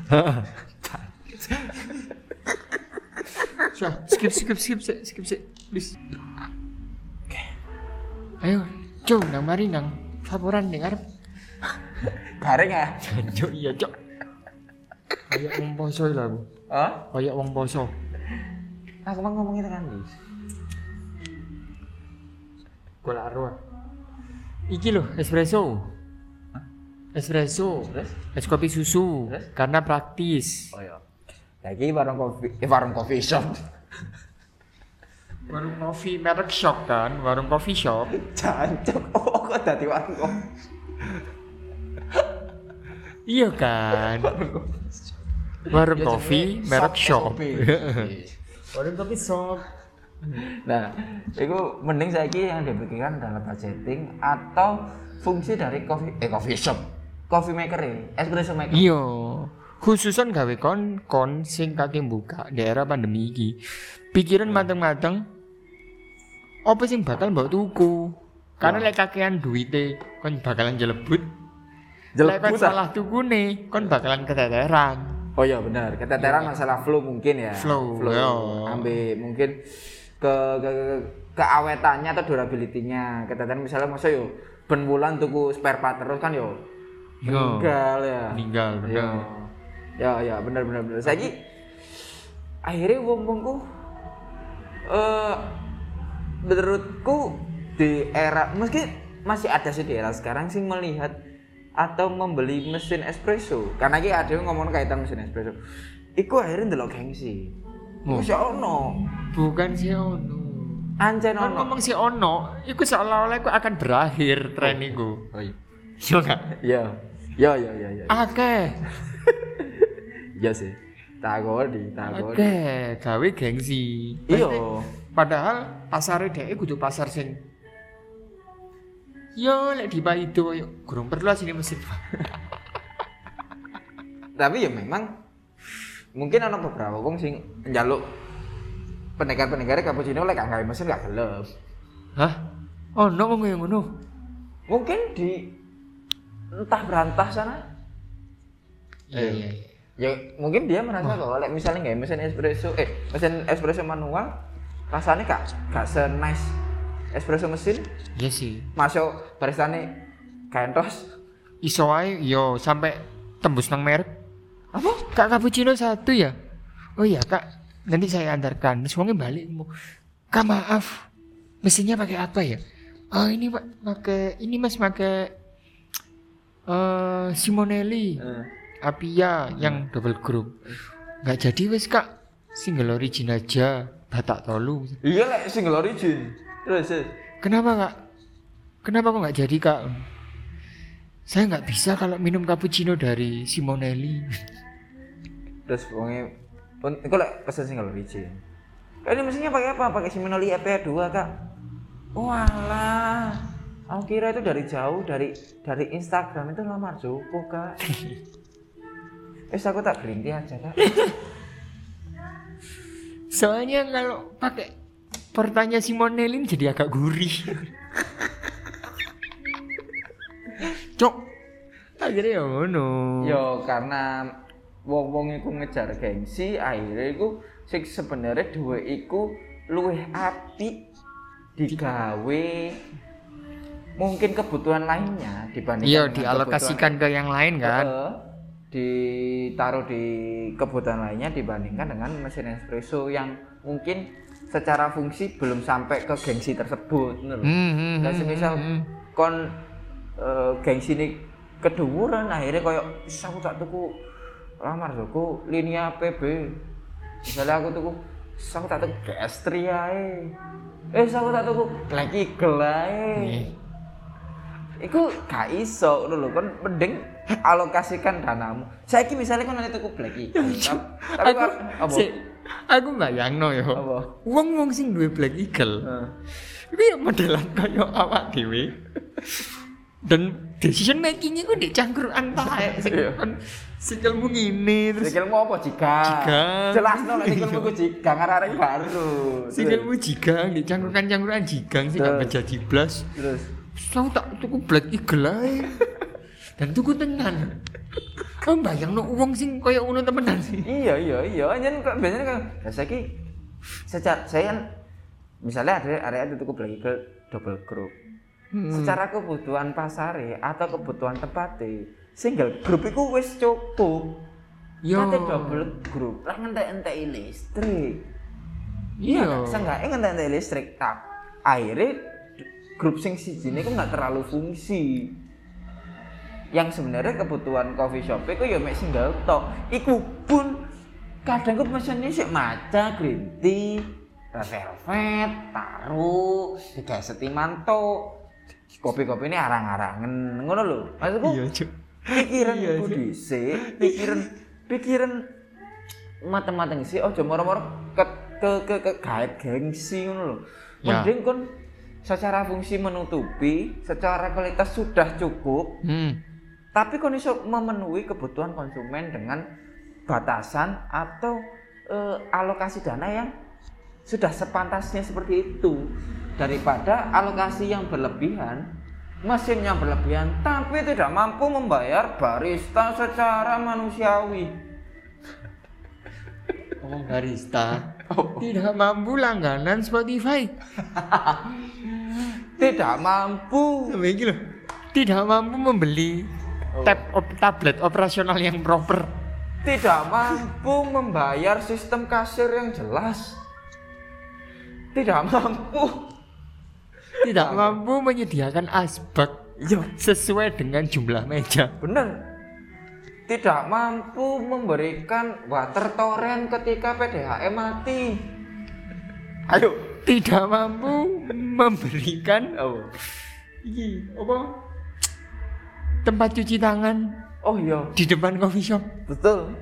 Heeh. Skip skip skip skip skip skip please. Oke. Ayo, Cuk, nang mari nang laporan ning arep. Bareng ya? Cuk, iya, Cuk. Kayak wong poso lho aku. Hah? Kayak wong poso. Aku mau ngomongin tekan iki. Golak ro. Iki lho, espresso. Espresso, terus? Es kopi susu, terus? Karena praktis. Oh iya. Lagi warung kopi, eh warung coffee shop. Warung kopi merek shop kan, warung coffee shop. Jancuk, oh kok dadi warung kopi. Iya kan. Warung ya, kopi merek shop. Warung kopi shop. Nah, itu mending saiki yang dipikirkan adalah budgeting atau fungsi dari coffee eh coffee shop. Coffee maker e, espresso maker. Iya. Khususan gawe kon kon sing kake buka di era pandemi iki. Pikiran mateng-mateng apa sing bakal mbok tuku. Karena lek kakean duwite kon bakalan jelebut. Lek kon salah tukune kon bakalan keteteran. Oh iya benar, keteteran ya. Masalah flow mungkin ya. Flow, flow. Ya. Ambil mungkin ke, ke, ke keawetannya atau durability-nya. Keteteran misalnya masa yo ben wulan tuku spare part terus kan yo meninggal ya. Meninggal bener. Ya ya benar benar benar. Saiki akhirnya wong-wong ku eh menurutku di era meski masih ada sih di era sekarang sih melihat atau membeli mesin espresso karena iki ada yang ngomong kaitan mesin espresso iku akhirnya ndelok gengsi iku Oh. si ono Bukan si ono. ancen Kan ono ngomong si ono, iku seolah-olah iku akan berakhir tren iku. oh iya Iya enggak? iya iya iya iya iya Akeh. iya sih takoni takoni Akeh gawe gengsi. iya Padahal pasare dhek kudu pasar sing yo lek di Paido yo gurung perlu sini mesin. tapi ya memang mungkin ada beberapa wong sing njaluk pendekar-pendekar cappuccino lek gak gawe mesin gak gelem. Hah? Oh, no wong yang ngono. Mungkin di entah berantah sana. Iya iya iya. Ya mungkin dia merasa bahwa lek misalnya gawe mesin espresso eh mesin espresso manual rasanya gak gak se-nice espresso mesin. Iya sih. Masuk baristane gentos. Iso ae yo sampai tembus nang merek. Apa? Kak cappuccino satu ya? Oh iya kak, nanti saya antarkan. Terus wongnya balik mau. Kak maaf, mesinnya pakai apa ya? Oh ini pak, pakai ini mas pakai uh, Simonelli, Eh. Apia yang double group. Nggak jadi wes kak, single origin aja, Batak Tolu. Iya lek single origin. Terus terus. Kenapa kak? Kenapa kok nggak jadi kak? Saya nggak bisa kalau minum cappuccino dari Simonelli. Terus wongnya pun iku lek pesen single origin. Kak ini mesinnya pakai apa? Pakai Simonelli E P dua kak. Walah, aku kira itu dari jauh dari dari Instagram itu lamar Joko kak. Wes aku tak berhenti aja kak. Soalnya kalau pakai portanya Simonelli jadi agak gurih. Cok. Akhirnya ya ngono. Yo karena wong-wong iku ngejar gengsi, akhirnya iku sing sebenarnya duwe iku luwih apik digawe mungkin kebutuhan lainnya dibandingkan Iya, dengan dialokasikan ke yang lain kan. Heeh. Ditaruh di kebutuhan lainnya dibandingkan dengan mesin espresso yang mungkin secara fungsi belum sampai ke gengsi tersebut ngono lho. Hmm, hmm, Dan hmm, semisal hmm, hmm. kon uh, gengsi ini keduwuran akhirnya koyo "Is, aku tak tuku lamar Joko Linea P B." Misalnya aku tuku "Is, aku tak tuku G S tiga ae. Eh, aku tak tuku Black Eagle ae. Nih. Iku gak iso ngono lho, kon mending alokasikan danamu. Saiki misalnya kon nanti tuku Black Eagle. Tapi Aku, kok- apa? si, aku bayangno yo. Apa? Wong-wong sing duwe Black Eagle. Heeh. Iku ya modelan kaya awak dhewe. Dan decision makingnya ku di cangkruan tae sing Iya. kon sikilmu ngene terus Sikilmu apa jika? Jika. Jelasno nek sikilmu ku jika arek baru. sikilmu jigang di cangkruan-cangkruan jigang sih gak Terus. menjadi blas. Terus Aku tak tuku Black Eagle ae. Dan tuku tenan. Kamu bayang no uang sing kaya ngono temenan sih. iya iya iya anjen kok biasanya kan ya saiki secara saya kan misalnya ada area itu tuku Black Eagle double group. Secara kebutuhan pasare atau kebutuhan tempatnya single group itu wis cukup. Yo. Kate double group lah ngentek-enteki listrik. Iya. Seenggaknya ngentek-enteki listrik. Tak akhirnya grup sing siji ini kok nggak terlalu fungsi. Yang sebenarnya kebutuhan coffee shop itu ya mek single tok. Iku pun kadang kok mesennya sik maca green tea, red velvet, taruh, tiga setiman tok. Kopi-kopi ini arang-arangan ngono lho. Maksudku Iya, Cuk. pikiran Iya, iku Cuk. dhisik, pikiran pikiran mateng-mateng sih ojo moro-moro ke ke ke, ke gaet gengsi ngono lho. Ya. Mending kon secara fungsi menutupi, secara kualitas sudah cukup, Hmm. tapi kon iso memenuhi kebutuhan konsumen dengan batasan atau eh, alokasi dana yang sudah sepantasnya seperti itu daripada alokasi yang berlebihan, mesin yang berlebihan tapi tidak mampu membayar barista secara manusiawi. Ngomong barista. Tidak mampu langganan Spotify. Tidak mampu. Begini loh. Tidak mampu membeli tab op- tablet operasional yang proper. tidak mampu membayar sistem kasir yang jelas. Tidak mampu. Tidak mampu menyediakan asbak Iya, sesuai dengan jumlah meja. bener. Tidak mampu memberikan water torrent ketika P D H M mati. Ayo, Tidak mampu memberikan oh, iki apa? Tempat cuci tangan oh iya, di depan coffee shop. betul.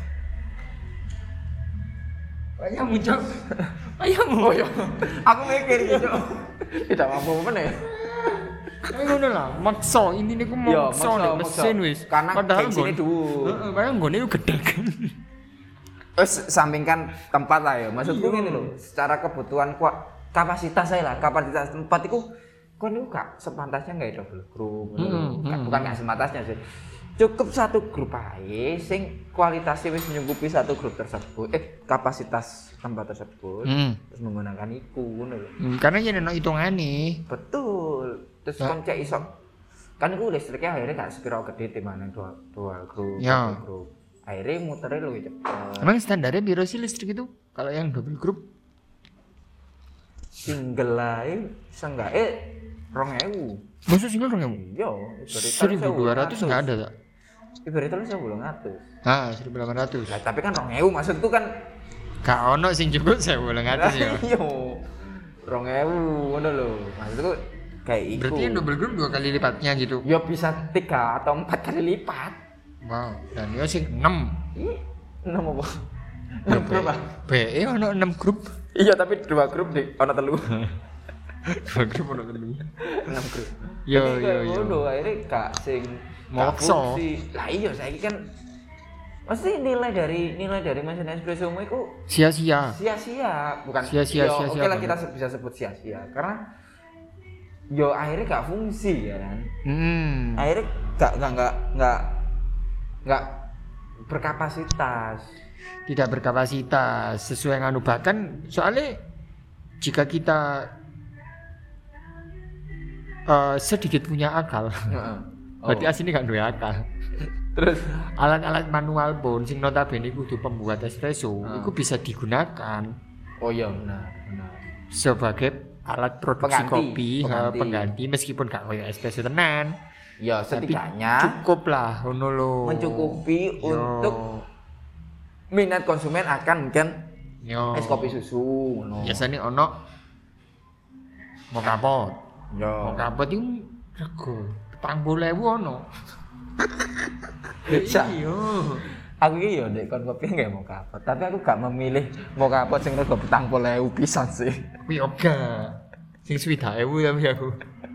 Ayammu, Cok. Ayammu. Oh iya, aku mikir gitu. Tidak mampu mana ya? Kayak ngono lah, maksa ini nih ku Iya, maksa maksa, nek maksa. mesin wis. Karena padahal gengsinya nggon- dhuwur. Heeh, padahal nggone ku gedhe kan. Terus sampingkan tempat lah ya. Maksudku gini loh, secara kebutuhan kua- kapasitas saya lah, kapasitas tempat itu kok ini gak sepantasnya nggak double group. Hmm, Bukan- hmm, Bukan nggak sepantasnya sih. Cukup satu grup aja sing kualitasnya wis menyanggupi satu grup tersebut. Eh, kapasitas tempat tersebut. Hmm. Terus menggunakan iku ngono lho. Hmm, karena yen ono hitungane. Betul. Terus Nah. kon cek iso kan itu listriknya akhirnya gak sekira gede timbangan dua dua grup, Ya. double grup. Akhirnya muternya lebih cepet. Emang standarnya biro sih listrik itu kalau yang double group? Single ae seenggaknya rong ewu. Masa single dong kamu? Iya, seribu dua ratus nggak ada tak? Ibaratnya lu sebelum ngatus. Ah, seribu delapan ratus. Lah tapi kan rong ewu maksudku kan Gak ono sing cukup saya boleh ngatus ya. Iya. Rong ewu ngono lho. Maksudku kayak iku. Berarti yang double group dua kali lipatnya gitu. Ya bisa tiga atau empat kali lipat. Wow, dan dia sing enam. Ih, enam apa? enam berapa? B E ono enam grup. Iya, tapi dua grup deh, ono telu. Dua grup ono telu. enam grup. Yo, Jadi yo, kayak yo. ngono akhirnya gak sing Maksa. gak fungsi. Lah iya saiki kan mesti nilai dari nilai dari mesin espresso mu iku Sia-sia. sia-sia, bukan Sia-sia, yo, sia-sia Oke lah banget. kita se- bisa sebut sia-sia karena yo akhirnya gak fungsi ya kan. Hmm. Akhirnya gak gak gak gak gak berkapasitas. Tidak berkapasitas sesuai nganu bahkan soalnya jika kita eh, sedikit punya akal Heeh. berarti Oh. aslinya gak duwe akal. Terus Alat-alat manual pun sing notabene kudu pembuat espresso Ah. itu bisa digunakan oh iya benar benar. sebagai alat produksi Pengganti, kopi eh, pengganti. pengganti meskipun gak kayak espresso tenan. Ya Tapi setidaknya cukup lah ngono lho. mencukupi Yo. untuk minat konsumen akan mungkin Yo. es kopi susu ngono. Biasanya ono mau kapot. Yo. Mau kapot itu rego petang puluh ewu ono. Sa- Iya. Aku iki yo ndek kon kopi nggak mau kapot, tapi aku gak memilih mau kapot sing rego petang puluh ewu pisan sih. Kuwi oga. Sing swidak ewu tapi aku.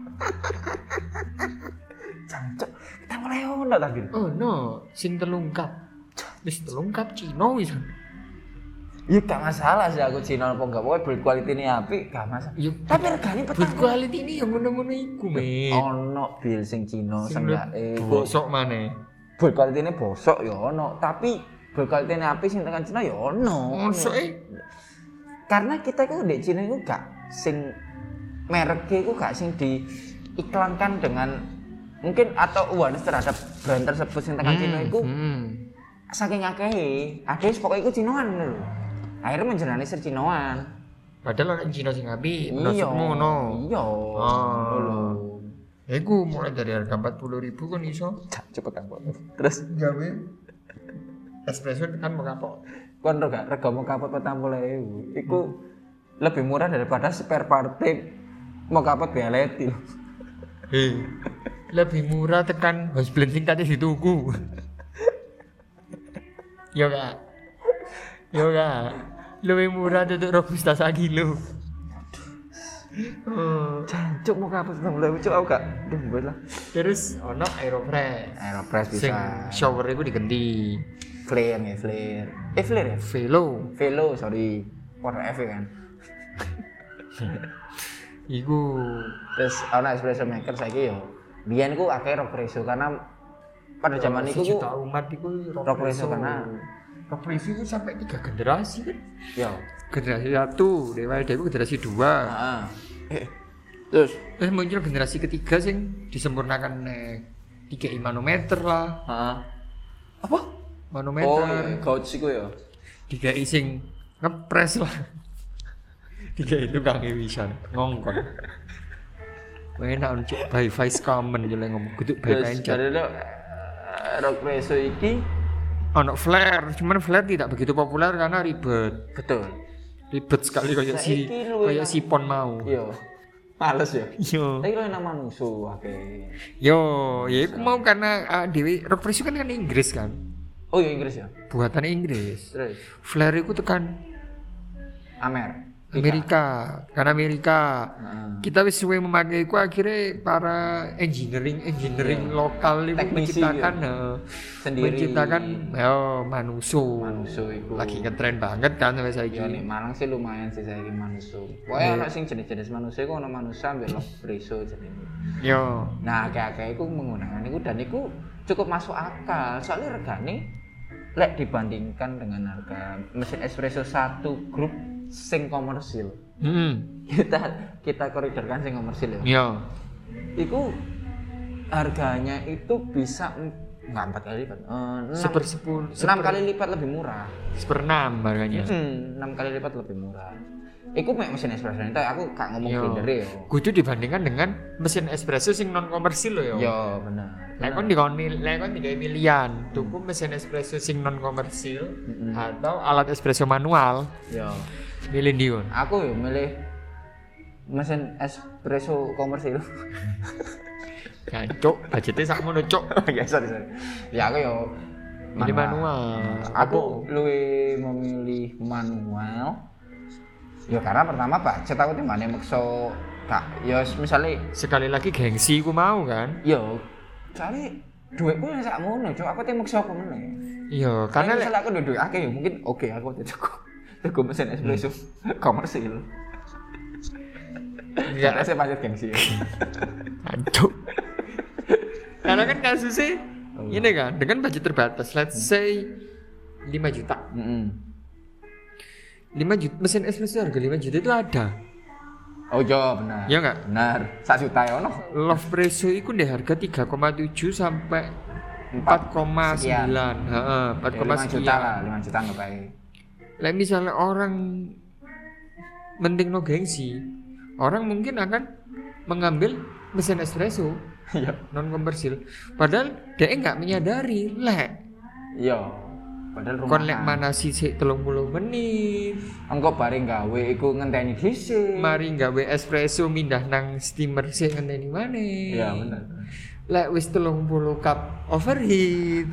Jancuk, petang puluh ewu ndak tak gitu. Oh no, sing telungkap. Wis telungkap Cino wis. Ya gak masalah sih aku Cina apa enggak, pokoknya build quality ini apik gak masalah. Yo, Tapi regane good petang quality ini yang ngono-ngono iku, men. ono bil sing Cina Sing seenggaknya bosok maneh. build quality ini bosok ya ono, tapi build quality ini apik sing tekan Cina ya ono. Mosok e Karena kita itu di Cina itu gak sing mereknya itu gak sing diiklankan dengan mungkin atau awareness terhadap brand tersebut sing tekan Cina itu hmm. saking akeh. Ada pokoknya itu Cinoan lho. Akhirnya menjernalisir Cinoan. Padahal orang Cina sing apik, Iya. menurutmu ngono. Iya. Ah. Ngono lho. Ya iku mulai dari harga empat puluh ribu kan iso. Cepet kan, Pak. Terus Gawe espresso kan mau kapok. kon ro gak rega mau kapot petang puluh ewu. Iku lebih murah daripada spare part mau kapot beleti. Hei. Lebih murah tekan house blend sing tadi dituku. Yo kak. Yo kak. Lebih murah tutuk robusta sak kilo. Oh. Jancuk mau kapot petang puluh ewu, cuk aku gak dumbet lah. Terus ono Aeropress. Aeropress Sing bisa. shower iku diganti Flare ya, flare. Eh, flare ya? Velo. Velo, sorry. Warna F kan. Iku Terus ana espresso maker saiki yo. Biyen ku akeh Rockresso karena pada zaman iku ku juta umat iku Rockresso karena Rockresso itu sampai tiga generasi kan. yo. Generasi satu, Dewa Dewa generasi dua. Heeh. Eh, terus Terus muncul generasi ketiga sing disempurnakan nek tiga manometer lah. heeh. Apa? manometer. Oh, iya, gauge iku ya. Dikai sing ngepres lah. Dikai itu kang Wisan ngongkon. Enak untuk by vice common jole ngomong kudu by Terus pencet. dari itu rock preso iki Ono flare, cuman flare tidak begitu populer karena ribet. betul. Ribet sekali kayak si Saiki luwih kayak nang- sipon mau. Iya. Males ya. Yo. Tapi kalau nama musuh oke. Yo, ya aku mau karena uh, Dewi rock preso kan kan Inggris kan. Oh iya Inggris ya. Buatan Inggris. Terus Flare itu tekan Amer. Amerika, kan Amerika. Heeh. Kita wis suwe memakai ku akhirnya para engineering engineering Iya. lokal itu Teknisi menciptakan ya. eh, Sendiri. menciptakan yo manuso. Manuso iku. Lagi ngetren banget kan sampai saiki. Ya nih Malang sih lumayan sih saiki manusia. Iya. Pokoknya ana sing jenis-jenis manusia iku ana manusia ambek rock preso jenenge. Yo. Nah, akeh-akeh iku menggunakan iku dan iku cukup masuk akal. Soalnya regane lek dibandingkan dengan harga mesin espresso satu grup sing komersil. Hmm. Kita kita koridorkan sing komersil ya. Yo. Iku harganya itu bisa em- enggak empat kali lipat. Eh, enam, Seper sepuluh, enam kali lipat lebih murah. seper enam harganya. Hmm, enam kali lipat lebih murah. Iku mek mesin espresso itu aku gak ngomong Yo. grinder ya. Kudu dibandingkan dengan mesin espresso sing non komersil loh yo. Yo, bener. Lek kon dikon mil, lek kon digawe milian, tuku mesin espresso sing non komersil Mm-mm. atau alat espresso manual, Yo. milih ndi kon? Aku yo milih mesin espresso komersil. Jancuk, budgetnya sakmono cuk. Ya sorry sorry. Ya aku yo Milih manual. Aku luwih memilih manual. Ya karena pertama budget aku timbane mekso kak. Ya misalnya Sekali lagi gengsi ku mau kan? yo soalnya duitku yang sakmono, cuk. Aku timbang mekso apa meneh. Iya, Karena karena lek misalnya aku duit akeh ya mungkin oke aku udah cukup. Cukup mesin espresso komersil. enggak Karena saya budget gengsi. Ya. jancuk. Karena kan kasusnya ini kan dengan budget terbatas, let's say lima juta. Mm-mm. lima juta mesin espresso harga lima juta itu ada. Oh iya benar. Iya enggak? Benar. Satu juta ya ono. Love Presso itu di harga tiga koma tujuh sampai empat koma sembilan. Heeh, empat koma lima juta lah, sekian. lima juta nggak baik. Lah misalnya orang mending no gengsi, orang mungkin akan mengambil mesin espresso Iya. non komersil. Padahal dia nggak menyadari lek Iya. Padahal rumah. kon lek mana sih telung puluh menit. Engko bareng gawe iku ngenteni dhisik. Mari gawe espresso mindah nang steamer sih ngenteni maneh. Iya benar. Lek wis telung puluh cup overheat.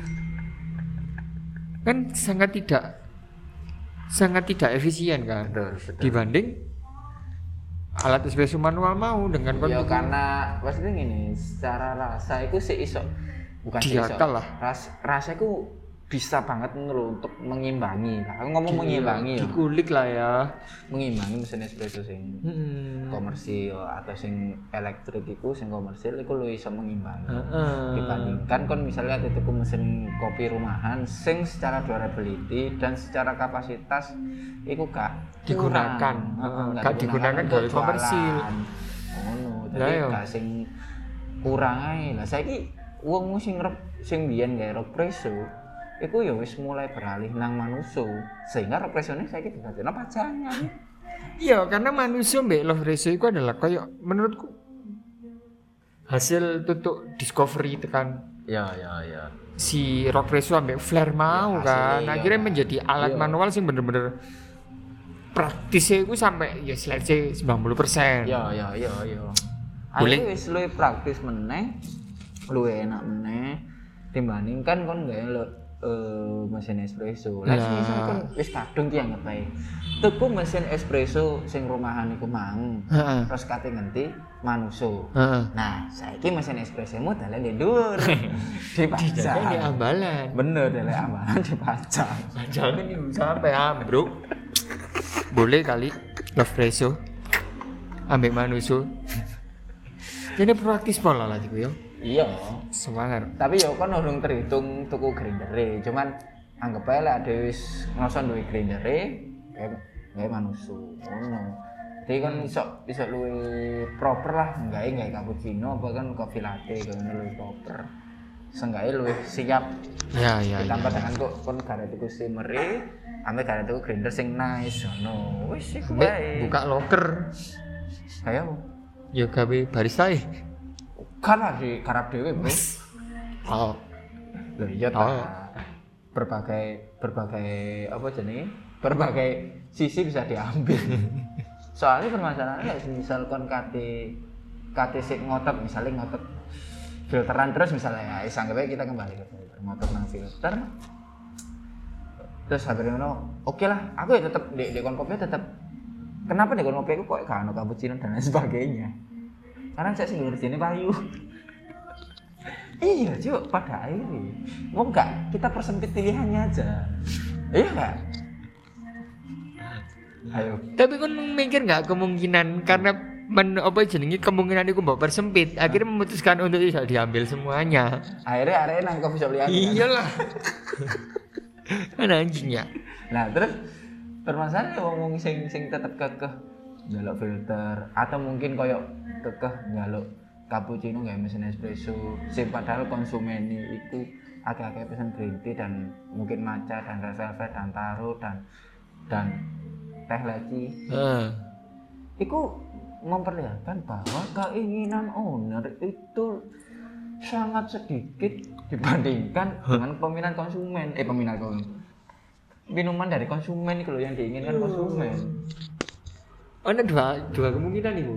Kan sangat tidak sangat tidak efisien kan Betul, betul. dibanding alat espresso manual mau dengan kon Ya tuku- karena maksudnya gini, secara rasa itu sih iso bukan sih iso. Diakal lah. Ras, rasa itu bisa banget ngono untuk mengimbangi. Lah, aku ngomong mengimbangi ya. dikulik lah ya. Mengimbangi mesin espresso sing Hmm. komersil atau sing elektrik iku sing komersil iku lu iso mengimbangi. Heeh. Dibandingkan kon misalnya ada tuku mesin kopi rumahan sing secara durability dan secara kapasitas iku gak Digunakan. kurang. Heeh, Heeh, gak digunakan untuk gawe komersil. jualan. Ngono, Lah, tapi yo. gak sing kurang ae. Lah saiki wong sing rep sing biyen gawe rock presso iku ya wis mulai beralih nang manuso sehingga rock presso-ne saiki didadekno pajangan. Iya, karena manusia mbak Love Presso itu adalah kayak menurutku hasil tutuk discovery tekan Ya ya ya. si Rock Presso ambek Flare mau Ya, kan. hasilnya, Akhirnya ya. menjadi alat Iya. manual sih bener-bener praktisnya itu sampai ya let's say sembilan puluh persen. Ya ya ya ya. Boleh. Boleh wis luwih praktis meneh, luwih enak meneh dibandingkan kon gawe lo eh, mesin espresso. Lah Lah. sing kon wis kadung ki anggap ae. Tuku mesin espresso sing rumahan iku mang. Heeh. Terus kate ngenti manuso. Heeh. Nah, saiki mesin espressomu dalan di dhuwur. Dijaga di Dipajang. ambalan. Bener dalan ambalan dipajang. Jangan nih sampai ambruk. Boleh kali Love Presso ambek manusia. Jadi praktis pola lah gitu ya. Iya. Semangat. Tapi ya kan urung terhitung tuku grindere, cuman anggap ae lek ade wis ngrasa duwe grindere, kayak kayak manusu ngono. Jadi kan iso iso luwih proper lah, enggak gawe cappuccino apa kan coffee latte kan luwih proper. seenggaknya luwih siap. Ya ya. Ditambah dengan kok kon gara tuku steamer-e, ame gara tuku grinder sing nice ngono. Wis iku wae. Buka loker. Kayak apa? Ya gawe barista e. Kan lagi garap dhewe, Bro. Oh. Loh iya ta. Oh. Berbagai berbagai apa jenenge? Berbagai sisi bisa diambil. Soalnya permasalahannya kayak misal kon kate kate sik ngotot, misalnya ngotot filteran terus misalnya ya anggap aja kita kembali ke filter, ngotot nang filter. Terus habis ngono, oke lah, aku ya tetap di di kon kopi tetap. Kenapa di kon kopi aku kok gak ono cappuccino dan lain sebagainya? Karena saya sih ngerti ini payu. Iya, cuy, pada akhirnya mau enggak kita persempit pilihannya aja. Iya enggak? Ayo. Tapi kan mikir nggak kemungkinan karena men apa jenenge kemungkinan itu mbok persempit, akhirnya memutuskan untuk bisa diambil semuanya. Akhirnya akhirnya nang kopi shop liyan. Iyalah. Kan anjing ya. Nah, terus permasalahannya wong sing sing tetep kekeh njaluk filter atau mungkin koyo kekeh njaluk cappuccino gawe mesin espresso sing padahal konsumen iku agak-agak pesen green tea dan mungkin matcha dan red velvet dan taro dan dan teh leci. Heeh. Iku memperlihatkan bahwa keinginan owner itu sangat sedikit dibandingkan dengan peminat konsumen. Eh peminat konsumen. Minuman dari konsumen itu loh yang diinginkan konsumen. Ada dua dua kemungkinan nih, Bu.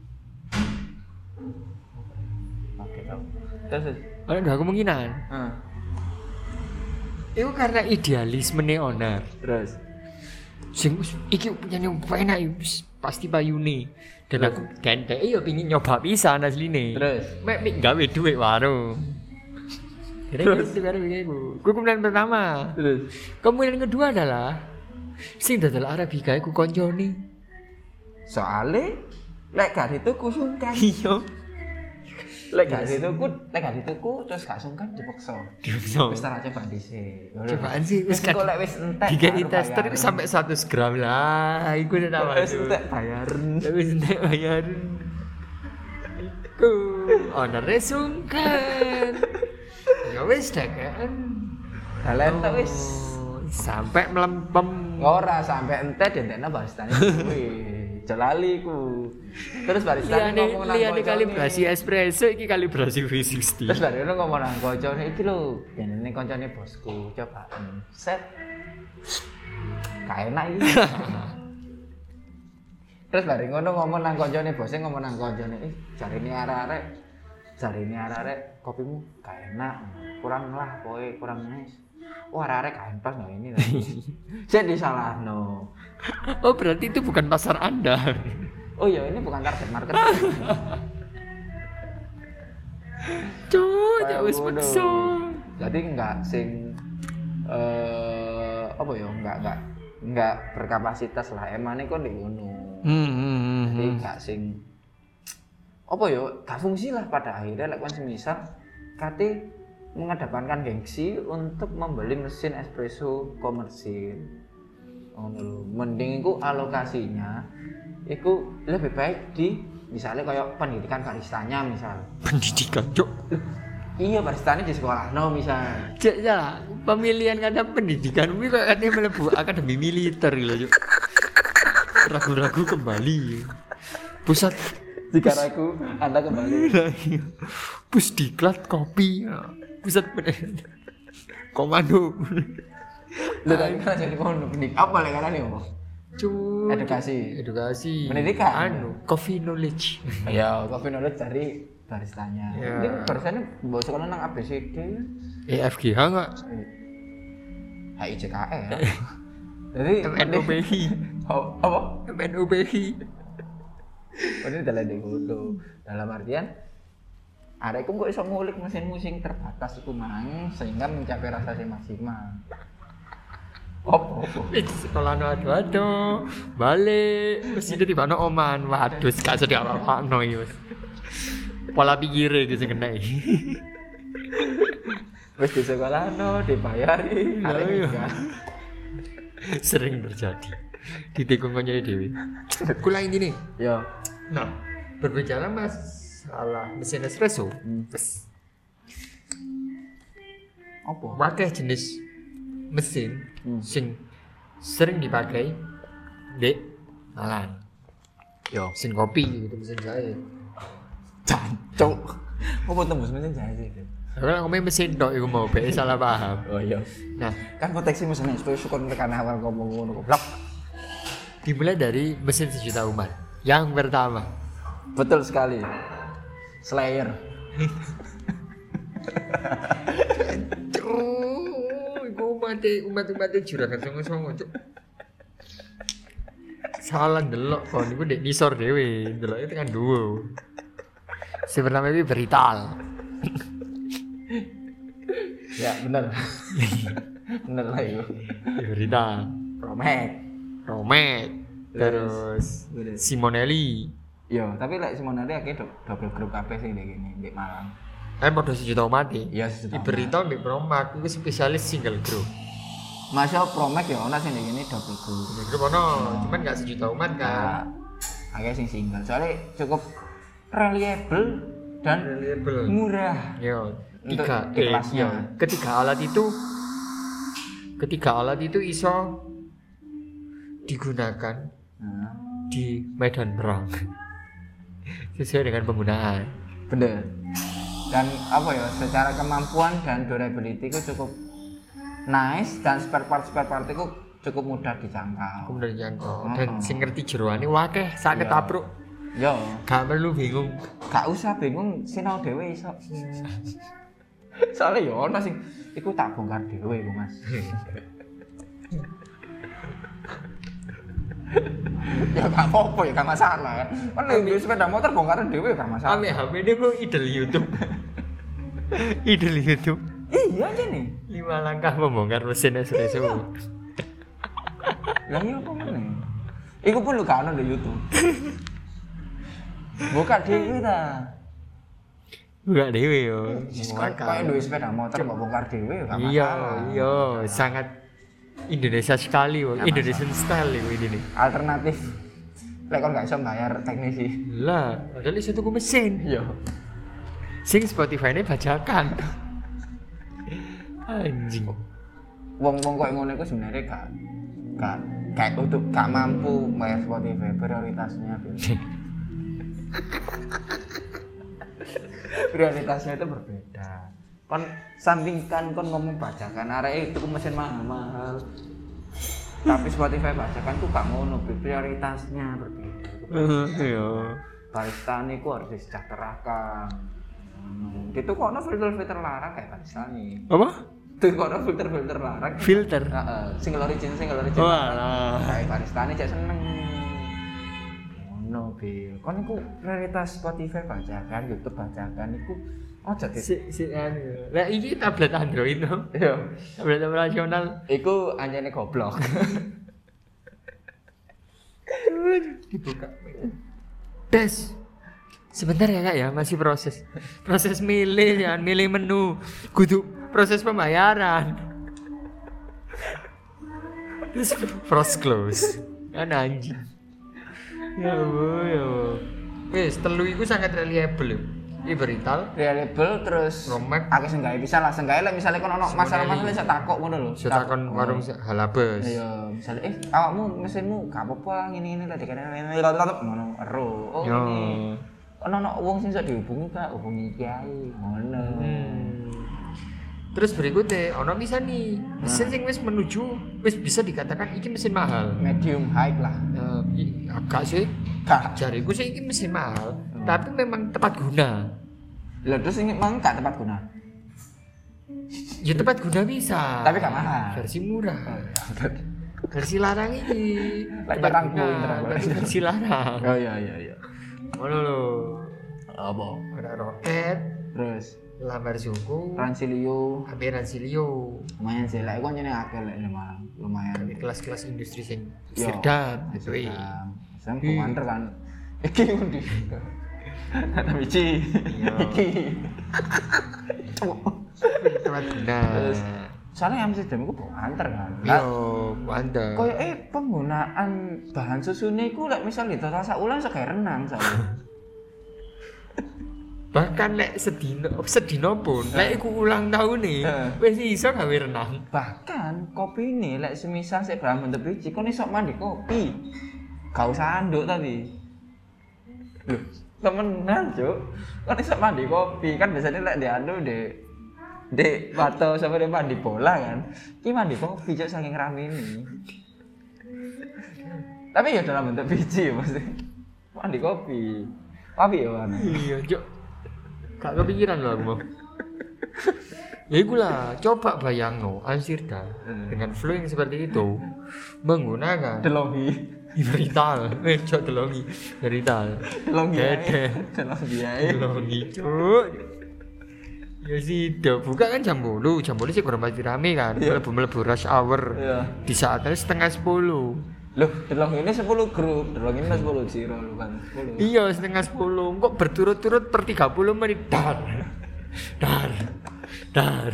Oke, tau. Terus Ada dua kemungkinan. Heeh. Itu karena idealisme nih owner. Terus Sing iki punya nyoba enak wis pasti payune. Dan aku gandeng iya pengin nyoba pisan asline. Terus Mek mik gawe dhuwit warung. Terus baru iku. Ku kemudian pertama. terus Kemudian kedua adalah sing dodol Arabica iku koncone. soalnya lek gak dituku sungkan. Iya. Lek gak dituku, lek gak dituku terus gak sungkan dipaksa. Dipaksa. Wis tak coba dhisik. Cobaan sih wis wis kok lek wis entek. Dikei baru tester bayaran. itu sampai seratus gram lah. Iku udah nama Wis entek bayaran. Wis entek bayaran. Iku ownernya sungkan. Ya wis dakan. Dalan tok wis. Oh, sampai melempem. Ora sampai entek dentekna baristane kuwi. Jelali ku. Terus baristane Liane ngomong nang liane koncone. kalibrasi espresso iki kalibrasi V enam puluh. Terus baristane ngomong nang koncone iki lho, jenenge koncone bosku, coba set. Gak enak iki. Terus bareng ngono ngomong nang koncone bose ngomong nang koncone, "Eh, jarine arek-arek, jarine arek-arek kopimu gak enak. Kurang lah kowe, kurang nice." Wah, arek-arek gak pas no ini. Saya disalahno. Oh, berarti itu bukan pasar Anda. Oh iya, ini bukan target market. Cuk, Kayak ya wis ngono. peksa. Jadi enggak sing eh apa ya, enggak enggak enggak berkapasitas lah. Emane kok ndek ngono. Hmm, hmm, hmm, Jadi hmm. enggak sing apa ya, gak fungsi lah pada akhirnya lek like, semisal kate mengedepankan gengsi untuk membeli mesin espresso komersil. Oh, mending iku alokasinya iku lebih baik di misalnya kayak pendidikan baristanya misal. Pendidikan, Cuk. Iya, baristanya di sekolah no misal. Cek ya, pemilihan kata pendidikan kuwi kok katanya mlebu akademi militer lho, Cuk. Ragu-ragu kembali. Pusat Jika ragu, Anda kembali. Pusdiklat kopi. Pusat pendidikan. Komando. Lu tadi kan jadi kono pendidik. Apa lek karane ngomong? Cuk. Edukasi. Edukasi. Pendidikan. Anu, coffee knowledge. Ya, kopi knowledge dari baristanya. Ya. Ini baristanya bawa sekolah nang A B C D. E F G H enggak? H I J K L. Jadi M N O P I. Oh, apa? M N O P I. Oh, ini dalam dikodo. Dalam artian arekku kok iso ngulik mesin musik terbatas iku mang sehingga mencapai rasa sing maksimal. Opo opo. Di sekolah no adu adu balik mesti di mana oman waduh gak sedih apa apa no ini mas pola pikirnya gitu kena Wis di sekolah no dibayari. Iya, Arek iya. enggak. sering terjadi di tikungannya dewi kula ini nih Yo. nah berbicara masalah mesin espresso Hmm. Wes. Apa? Wakeh jenis mesin Hmm. sing sering dipakai di Malang. Yo, Mesin kopi gitu, mesin jahit. jancuk. Apa tembus mesin jahit iki? Kalau ngomongin mesin tok iku mau be salah paham. Oh iya. Nah, Kan proteksi mesinnya supaya syukur tekan awal ngomong ngono goblok. dimulai dari mesin sejuta umat. Yang pertama, Betul sekali. Slayer. oh, iku umat umat-umat juragan songo-songo, Cuk. Salah ndelok kon iku ndek nisor dhewe, ndeloke tekan dhuwur. Si pertama iki Berital. Ya, bener. Bener lah itu. Berital. Promek. Romek, terus Terus. Simonelli. Yo, tapi lek Simonelli akeh do- double grup kabeh sing ndek kene, ndek Malang. Kan padha sejuta umat e. Iya, sejuta umat. Berital mbek Promak iku spesialis single group. Masya Promek ya ana sing ndek kene double grup. Single group ono, cuman gak sejuta umat kan. Nah, akeh sing single. Soalnya cukup reliable dan Reliable. murah. Yo, Untuk tiga eh, kelasnya. yo, ketiga alat itu ketiga alat itu iso digunakan Nah, di medan perang sesuai dengan penggunaan. bener. Dan apa ya, secara kemampuan dan durability itu cukup nice dan spare part spare part itu cukup mudah dijangkau. Kemudian jangkau Mm-mm. dan sing ngerti jeroane wakeh sak Iya. ketapruk. Yo, Gak perlu bingung. gak usah bingung sinau dhewe iso. Soalnya ya ono sing iku tak bongkar dhewe iku, Mas. Ya gak apa-apa ya, gak masalah. Kan nek duwe sepeda motor bongkaran dhewe gak masalah. Ame H P ini kok idol YouTube. Idol YouTube. Iya aja nih. Lima langkah membongkar mesin espresso. Lah iya apa meneh? Iku pun lu gak ono di YouTube. Buka dhewe ta. Buka dewe yo. Kayak duwe sepeda motor mbok bongkar dhewe gak masalah. Iya, iya, sangat Indonesia sekali, wo. Gak Indonesian style yo ini nih. Alternatif. Lek kon gak iso bayar teknisi. Lah, padahal iso tuku mesin. Iya. Sing Spotify-ne bajakan. Anjing. Wong-wong koyo ngono iku sebenarnya gak gak gak untuk gak mampu bayar Spotify, prioritasnya beda. Prioritasnya itu berbeda. Kon sandingkan kon ngomong bajakan arek itu mesin mahal-mahal. Tapi Spotify bajakan tuh gak ngono, prioritasnya berbeda. Iya. Barista niku harus disejahterakan. Hmm. Itu kok ono filter-filter larang kayak barista nih. Apa? Itu kok ono filter-filter larang. Filter. Heeh, single origin, single origin. Oh, alah. Kayak barista nih cek seneng. Ngono, Bil. Kon iku prioritas Spotify bajakan, YouTube bajakan iku aja di. Si si anu. Lah iki tablet Android no. Iya. Tablet operasional. Iku anjene goblok. Dibuka. Tes. Sebentar ya kak ya, masih proses. Proses milih ya, milih menu. Kudu proses pembayaran. Terus frost close. Kan anjing. Ya Allah, ya Allah. Wes, telu iku sangat reliable. Iki Berital, Reliable terus Romek. akeh sing gawe bisa lah, sing gawe lek misale kon ono masalah-masalah iso takok ngono lho. saya takon warung halabes. Iya, misalnya eh awakmu mesinmu gak apa-apa ngene-ngene lah dikene ngono ero. Oh Yo. ini. Ono ono wong sing iso dihubungi Kak, hubungi kiai ngono. Hmm. Terus berikutnya, ono bisa nih mesin sing wis menuju wis bisa dikatakan iki mesin mahal. Medium high lah. Eh, i- agak sih, Kak. jariku sih iki mesin mahal, tapi memang tepat guna. Lah terus ini emang gak tepat guna. Ya tepat guna bisa. Tapi gak mahal. Versi murah. Versi larang ini. Lek tepat larang guna, pinter aku. tapi versi larang. Oh iya iya iya. Ngono lho. Apa? Ada roket, Terus lambar suku, Ransilio H P Ransilio. lumayan sih, lek kon nyene akeh lek lumayan. Lumayan. Di kelas-kelas industri sing Yo, Amsterdam gitu. Amsterdam. Sam Hi. komander kan. Iki undi. Kata biji. Iya. Iki. Tepat guna. Terus soalnya Amsterdam iku komander kan. Yo, mantap. Kayak eh penggunaan bahan susune iku lek misal di total sak ulang iso gawe renang soalnya. Bahkan lek sedino sedino pun lek iku ulang tahun nih Heeh. wis iso gawe renang. Bahkan kopi ini lek semisal sik Brahman the biji kon iso mandi kopi. Gak usah anduk tapi. Loh, temenan, Cuk. Kon iso mandi kopi kan biasanya lek di anu di di bato sama di mandi bola kan. Ki mandi kopi Cuk saking rame ini. Tapi ya dalam bentuk biji ya pasti. Mandi kopi. Tapi ya mana? Iya, Cuk. Gak kepikiran loh aku mau. Ya itulah, coba bayang no, Amsterdam Hmm. dengan flow yang seperti itu menggunakan Delongi. Iberital, eh cok delongi, Iberital, Delongi. Dede, Delongi ae. delongi cok. Ya sih, udah buka kan jam bolu, jam bolu sih kurang pasti rame kan, Iya. melebu melebu rush hour. Iya. Di saatnya setengah sepuluh. Loh, Delongi ini sepuluh grup, Delongi ini sepuluh zero lu kan. sepuluh. Iya setengah sepuluh, kok berturut-turut per tiga puluh menit dar, dar, dar.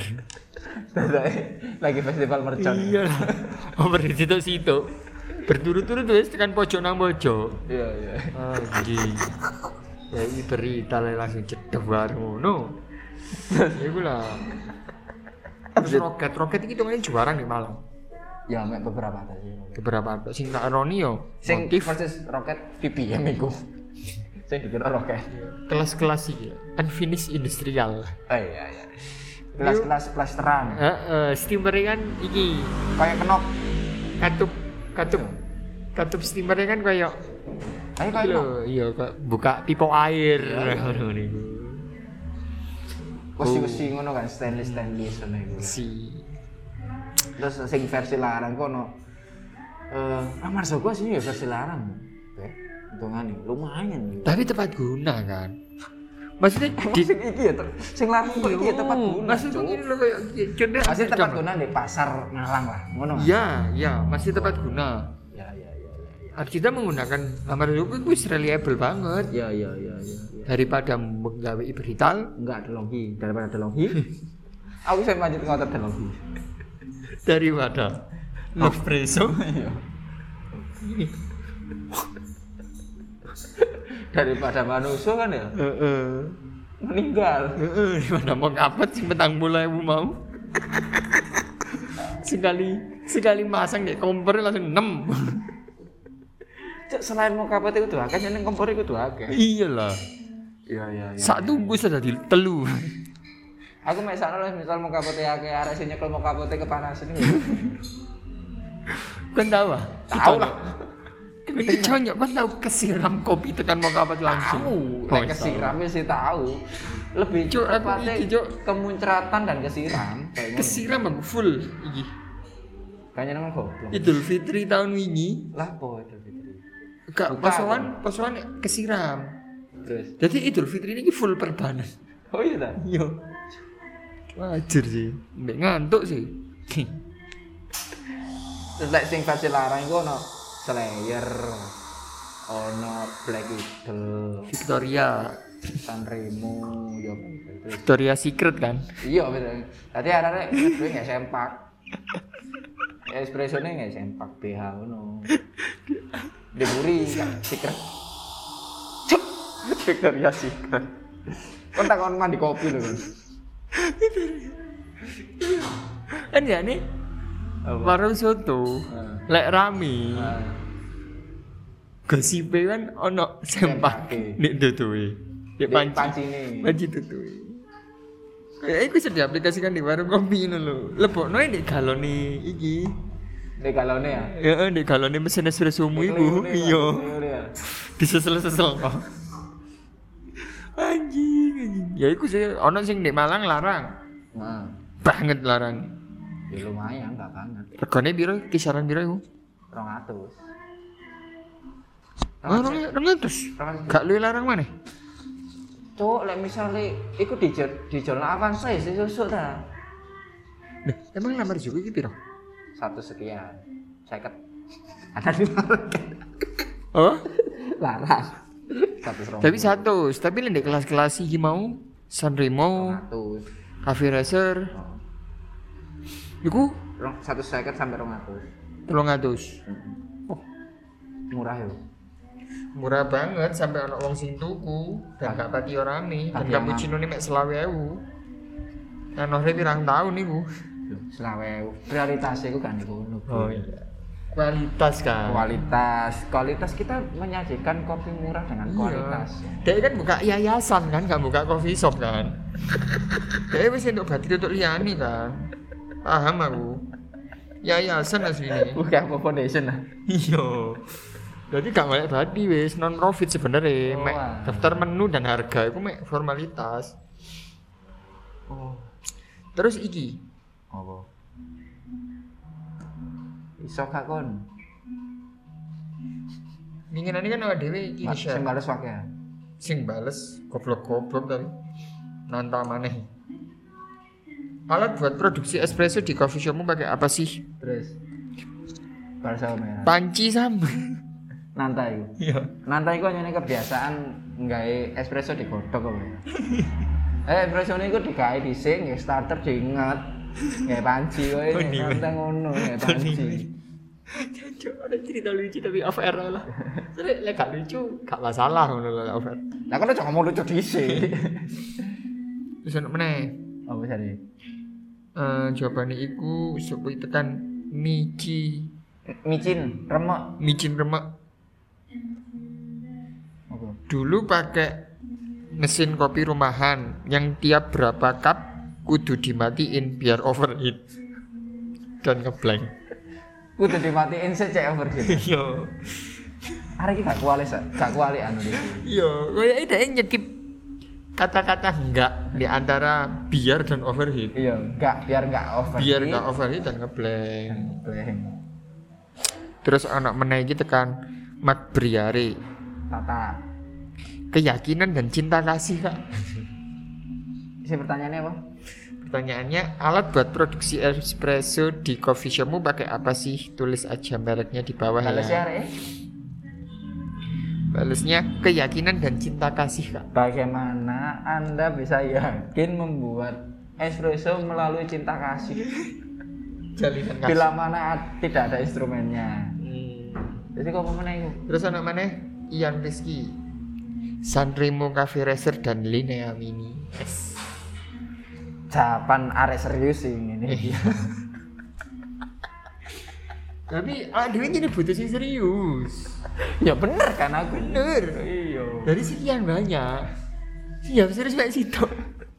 Lagi festival mercon. Iya lah, oh berarti itu situ berturut-turut wes tekan pojok nang pojok. Iya, iya. Anjing. Ya iki berita lah langsung cedek baru ngono. Ya iku lah. Terus roket, roket iki hitungane juara nih Malang. Ya, mek beberapa tadi. Beberapa sing tak eroni yo. Sing Motif versus roket V P M iku. Sing dikira roket. kelas-kelas iki. Unfinished industrial. Oh iya, iya. Kelas-kelas plasteran. Heeh, steamer kan iki Kayak kenop. katup katup katup steamernya kan kayak Kayak kayak iya kenop. iya kayak buka pipa air ngono niku. Wesi-wesi ngono kan stainless stainless ngono iku. Si Terus sing versi larang kono eh Amar Joko sih ya versi larang. Oke. Hitungane lumayan gitu. tapi tepat guna kan. Maksudnya di Sing iki ya te- sing larang kok iki ya tepat guna. Maksudnya Cuk. gini loh kayak contoh Masih tepat Amsterdam. guna di pasar Malang lah. Ngono. kan? Iya, iya, masih tepat guna. Ya, ya, ya, ya. Harus kita menggunakan Amar Joko itu reliable banget Ya, ya, ya, ya. ya. daripada menggawe iberital Enggak ada logi daripada ada logi. Aku saya lanjut ngotot ada logi. daripada love preso. Iya. Daripada manusia kan ya Heeh. meninggal. Heeh, di mana mau ngapet sing petang bola ibu mau. sekali sekali masang kayak kompor langsung enam. Cuk, selain mau kapet itu tuh akeh neng kompor itu tuh akeh. Iyalah. Iya, iya, iya. Sak tunggu sudah di telu. Aku mek sakno lah misal mau kapet akeh arek sing nyekel mau kapet kepanasan iki. Kan tahu ah? Tahu lah. Ini conyok kan tahu kesiram kopi tekan mau kapet langsung. Tahu, lek kesiram ya sih tahu. Lebih Cuk, aku tepatnya iki, Cuk. kemuncratan dan kesiram. Kayak ngono. Kesiram aku full iki. Kayaknya nang goblok. Idul Fitri tahun wingi Lah po itu Fitri. gak Buka, posoan posoan kesiram. Terus. Jadi Idul Fitri ini full perbanan. Oh iya ta? Iya. Wajar sih. Mbak ngantuk sih. Terus lek sing versi larang iku ono Slayer, ono Black Eagle, Victoria. Sanremo, yo terus. Victoria Secret kan. Iya betul. Tadi arek-arek gue nggak sempak. Espresso nya nggak sempak B H ngono. Deburi kan Secret. Cuk. Victoria Secret. Kon takon mandi kopi lho kan. Kan ya nih warung soto lek rame gosipe kan ono sempak Sempake. nek tutuwe nek Di panci pancine. panci tutuwe kayak iku sudah diaplikasikan di warung kopi ngono lho lebokno nek galone iki Nek galone ya. ya nek galone mesin espresso mu iku iya disesel-sesel kok anjing anjing ya iku sih ono sing nek Malang larang Nah, banget larang ya lumayan enggak banget. regane piro kisaran piro iku dua ratus. oh ratus gak luwih larang maneh Cuk, lek misale iku dijual dijual Avanza ya sih susuk ta. Nah, emang lamar juga iki piro? Satu sekian. Seket. Ada di market. Oh, Larang. Satu serong. tapi satu, tapi lek kelas-kelas iki mau Sanremo, Ratus. Cafe Racer, iku Rong satu seket sampai rong atus. telung atus. Murah ya. Murah banget sampai ana wong sing tuku dan gak pati ora rame. Dan Pati aman. cappuccino ini mek selawe ewu. Kan ora pirang tahun niku. Selawe prioritas iku kan iku ngono. Oh iya. Kualitas kan. Kualitas, kualitas kita menyajikan kopi murah dengan kualitas. Dia kan buka yayasan kan, gak buka coffee shop kan. Dia wis untuk bateri untuk liani kan. Paham aku. Yayasan asline. Bukan apa foundation lah. Iya. Jadi gak golek badi wis non profit sebenarnya. Oh, Mek wah. daftar menu dan harga itu mek formalitas. Oh, Terus iki, apa? Iso gak kon? winginane kan awake dhewe iki Sing share. bales wae. Sing bales goblok-goblok tapi nantang maneh. Alat buat produksi espresso di coffee shopmu pakai apa sih? Terus bales sama merah. Panci sama. Nantai iku. Iya. Nantai iku hanya kebiasaan nggawe espresso digodhog apa ya. Eh espresso niku digawe dhisik nggih starter diinget. Nggih panci wae Oh, iya. nanti ngono nggih panci. Jancuk ada cerita lucu tapi off air lah. Soalnya lek gak lucu gak masalah ngono lho off air. Lah kan aja ngomong lucu dhisik. Terus ono meneh. Apa sih? Eh jawabane iku supaya tekan mici, Micin, remek. micin remek. Apa? Dulu pakai mesin kopi rumahan yang tiap berapa cup kudu dimatiin biar overheat dan ngeblank. Kudu dimatiin sik cek overheat. Iya. Arek iki gak kuali sak, gak kuali anu iki. Iya, kayak dia nyekip kata-kata enggak di antara biar dan overheat. Iya, enggak biar enggak overheat. Biar enggak overheat dan ngeblank. Bleng. Terus anak meneh iki tekan Mat Briare. Tata. Keyakinan dan cinta kasih, Kak. Isi pertanyaannya apa? Pertanyaannya, alat buat produksi espresso di coffee shopmu pakai apa sih? Tulis aja mereknya di bawah Balas ya, ya. Arek. Balesnya keyakinan dan cinta kasih, Kak. Bagaimana Anda bisa yakin membuat espresso melalui cinta kasih? Jalinan kasih. Bila mana tidak ada instrumennya. Hmm. Jadi kok mana itu? Terus anak mana? Ian Rizky, Sanremo Cafe Racer dan Linea Mini. Yes. Jawaban arek serius sih ini. Tapi ah dewe jadi butuh sing serius. Ya bener kan aku. Bener. Iya. Dari sekian banyak. Siap serius banget sih toh.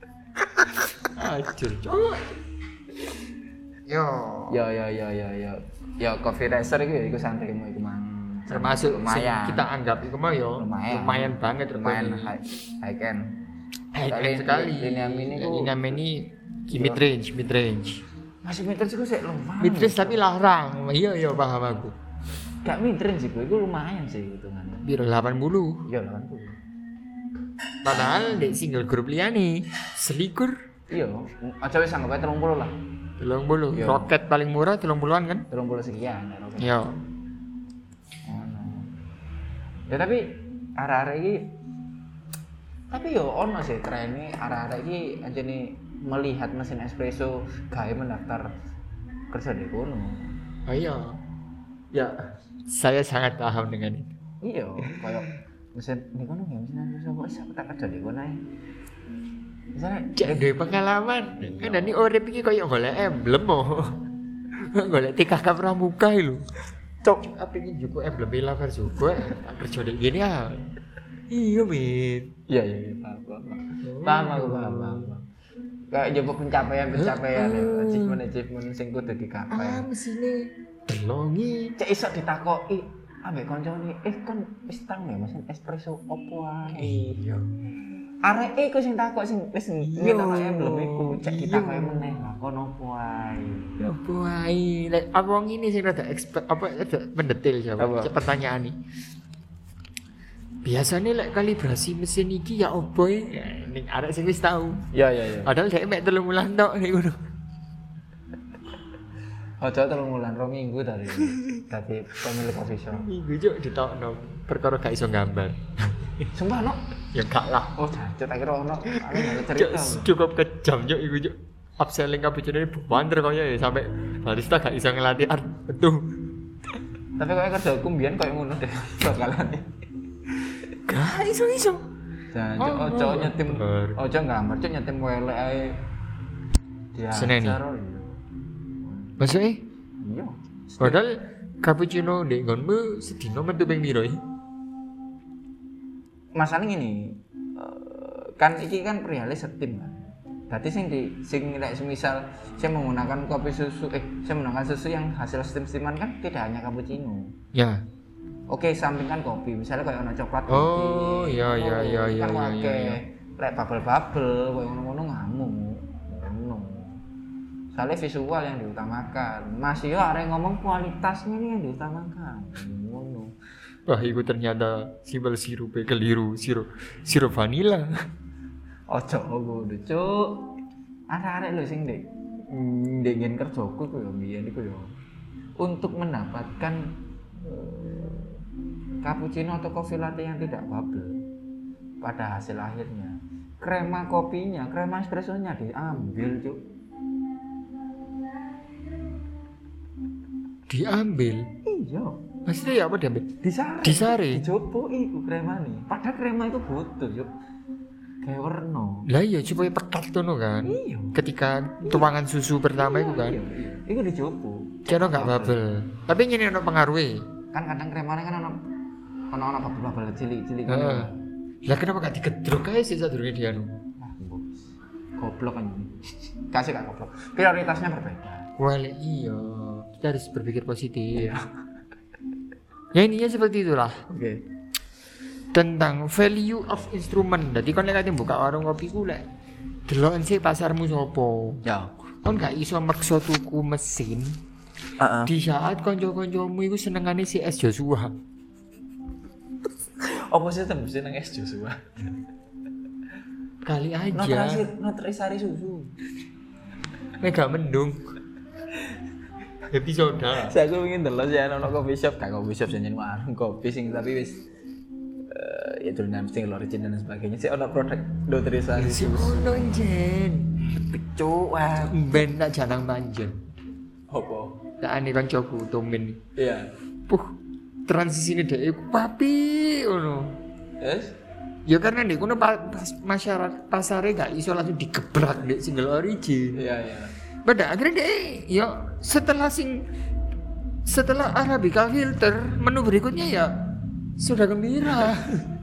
Acur, cowok. Yo. Ya ya ya ya ya. Ya coffee racer itu ya iku santrimu iku mang. Termasuk sing lumayan. kita anggap itu mah yo Lumayan. lumayan banget lumayan regane. high, high end. High Kali- end sekali. Linea Mini ku- Linea Mini mid range, mid range. Masih midrange iku sik lumayan. Mid range tapi larang. Iya iya paham aku. Gak midrange iku, iku lumayan sih hitungannya. Biro delapan puluh. Iya delapan puluh. Padahal di single grup liyane selikur Iya, aja wis anggap ae tiga puluh lah. telung puluh. Iya. Roket paling murah telung puluhan kan? tiga puluh sekian. Ya, Iya. ono. Ya tapi arek-arek iki tapi yo ono sih trene arek-arek iki anjene melihat mesin espresso gawe mendaftar kerja di kono. Oh iya. Ya, saya sangat paham dengan itu. Iya, kayak mesin di kono ya mesin espresso kok iso tak kerja di kono ae. Misalnya Cek duwe pengalaman. Kan ini urip iki koyo golek emblem oh. Golek T K K pramuka lho. Cok, apa iki juku emblem Ila Versuko tak kerja di gini ah. Iya, Mit. iya iya iya paham paham. Paham aku paham paham. paham. Kayak nyoba pencapaian-pencapaian ya, achievement-achievement sing kudu digapai. Ah, mesine delongi. Cek iso ditakoki ambek koncone, "Eh kon wis tau ya mesin espresso opo ae?" Iya. Arek iku sing takok sing wis Iya. ngetok emblem iku, cek Iya. ditakoki meneh lah kon opo ae. Apa ae? Lek apa wong ini sing rada expert apa rada mendetil Apa? jawab Cek pertanyaan ini. Biasanya lek kalibrasi mesin iki ya opo ya? Ning arek sing wis tau. Iya iya iya. Padahal dhek mek telung wulan tok nek ngono. Aja telung wulan, rong minggu dari dadi pemilik coffee shop. Minggu juk ditokno perkara gak iso gambar. Sumpah no. Ya gak lah. Oh, jancuk tak kira ono. Aku nggak Cuk, cerita. cukup kejam juk iku juk. Upselling cappuccino ini banter kaya ya sampai barista gak iso ngelatih art betul. Tapi kok kerja hukum biyen koyo ngono deh bakalan. Gak iso-iso. Dan Oh, ojo oh, nyetim, bener. ojo nggambar, ojo nyetim welek ae. Dia Seneni. cara iya. Maksudnya? Iya. Padahal cappuccino ndek nggonmu sedina metu ping piro iki? Masalahnya gini, eh, kan iki kan perihal setim kan. Berarti sing di sing nek semisal saya menggunakan kopi susu eh saya menggunakan susu yang hasil steam-steaman kan tidak hanya cappuccino. Ya. Oke, sampingkan kopi, misalnya kayak ono coklat Oh, iya, iya, iya, iya, kan iya, wake, iya, iya. lek bubble-bubble koyo ngono-ngono ngamuk. Ngono. Soalnya visual yang diutamakan. Mas yo arek ngomong kualitasnya ini yang diutamakan. Ngono. Wah, itu ternyata simbol sirupnya keliru, sirup sirup vanila. Ojo kudu, Cuk. Arek-arek lho sing ndek ndek ngen kerjaku ku yo biyen iku yo. Untuk mendapatkan eh, cappuccino atau coffee latte yang tidak bubble pada hasil akhirnya, krema kopinya, krema espressonya diambil, Cuk. Diambil. Iya. Maksudnya ya apa diambil? Disare. Disare? Dicoba iku krema nih. Padahal krema itu butuh, Cuk. Kayak warna. Lah iya supaya pekat tuh kan. Iya. Ketika tuangan susu pertama itu kan. Iya, iya. Iku dicoba. Kira enggak bubble. Tapi ini ono pengaruhnya. Kan kadang kremanya kan ono ono ono bubble-bubble cilik-cilik Heeh. ngono. Lah kenapa gak digedruk aja sih sadurunge dia anu? Wah, bos. Goblok kan ini. Kasih gak goblok. Prioritasnya berbeda. Well, iya. Kita harus berpikir positif. Iya. Ya intinya seperti itulah. Oke. Tentang value of instrument. Jadi kan lek buka warung kopi ku lek deloken sih pasarmu sopo. Ya. Kon gak iso maksa tuku mesin Heeh. di saat konco-koncomu iku senengane si es Joshua. Apa sih tembus nang es Joshua? Kali No aja. terakhir, no terisari susu. Mega mendung. Episode. Saya aku ingin delok ya ono coffee shop, gak coffee shop jenenge warung kopi sing tapi wis eh ya dolanan sing original dan sebagainya. Sih ono produk nutrisari Si susu. ono jen. Cuk, wah. Ben tak janang manjen. Apa? Tak ane kancaku Tomin. Iya. Puh, transisi ini deh, papi, ono. Yes. Ya karena nih, kono pa- pas masyarakat pasarnya gak iso langsung digebrak deh single origin. Iya, iya. Pada akhirnya deh, ya setelah sing setelah Arabica filter, menu berikutnya ya sudah gembira.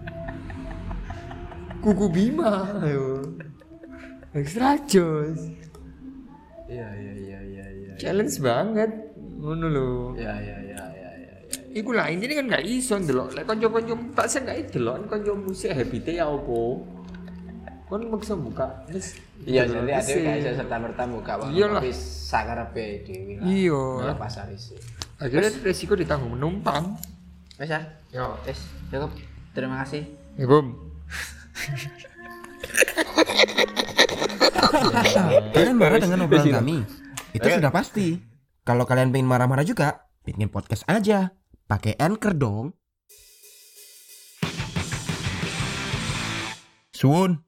Kuku Bima, ayo. Extra jos. Iya, iya, iya, iya, iya. Challenge banget, ngono lho. Iya, iya, iya, iya, iya. Iku lah intinya kan gak iso ndelok. Lek kanca-kanca tak sen gak delok kanca musik habite ya opo. Kon maksa buka wis. Iya, jadi ada gak iso serta merta buka warung Iyalah. kopi sakarepe dhewe lah. Iya. Nang pasar isi. Akhirnya resiko ditanggung penumpang. Wes ya. Yo. Wes, cukup. Terima kasih. Ya, Bum. Kalian marah dengan obrolan kami? Itu sudah pasti. Kalau kalian pengen marah-marah juga, bikin podcast aja. Pakai Anchor dong. Suun.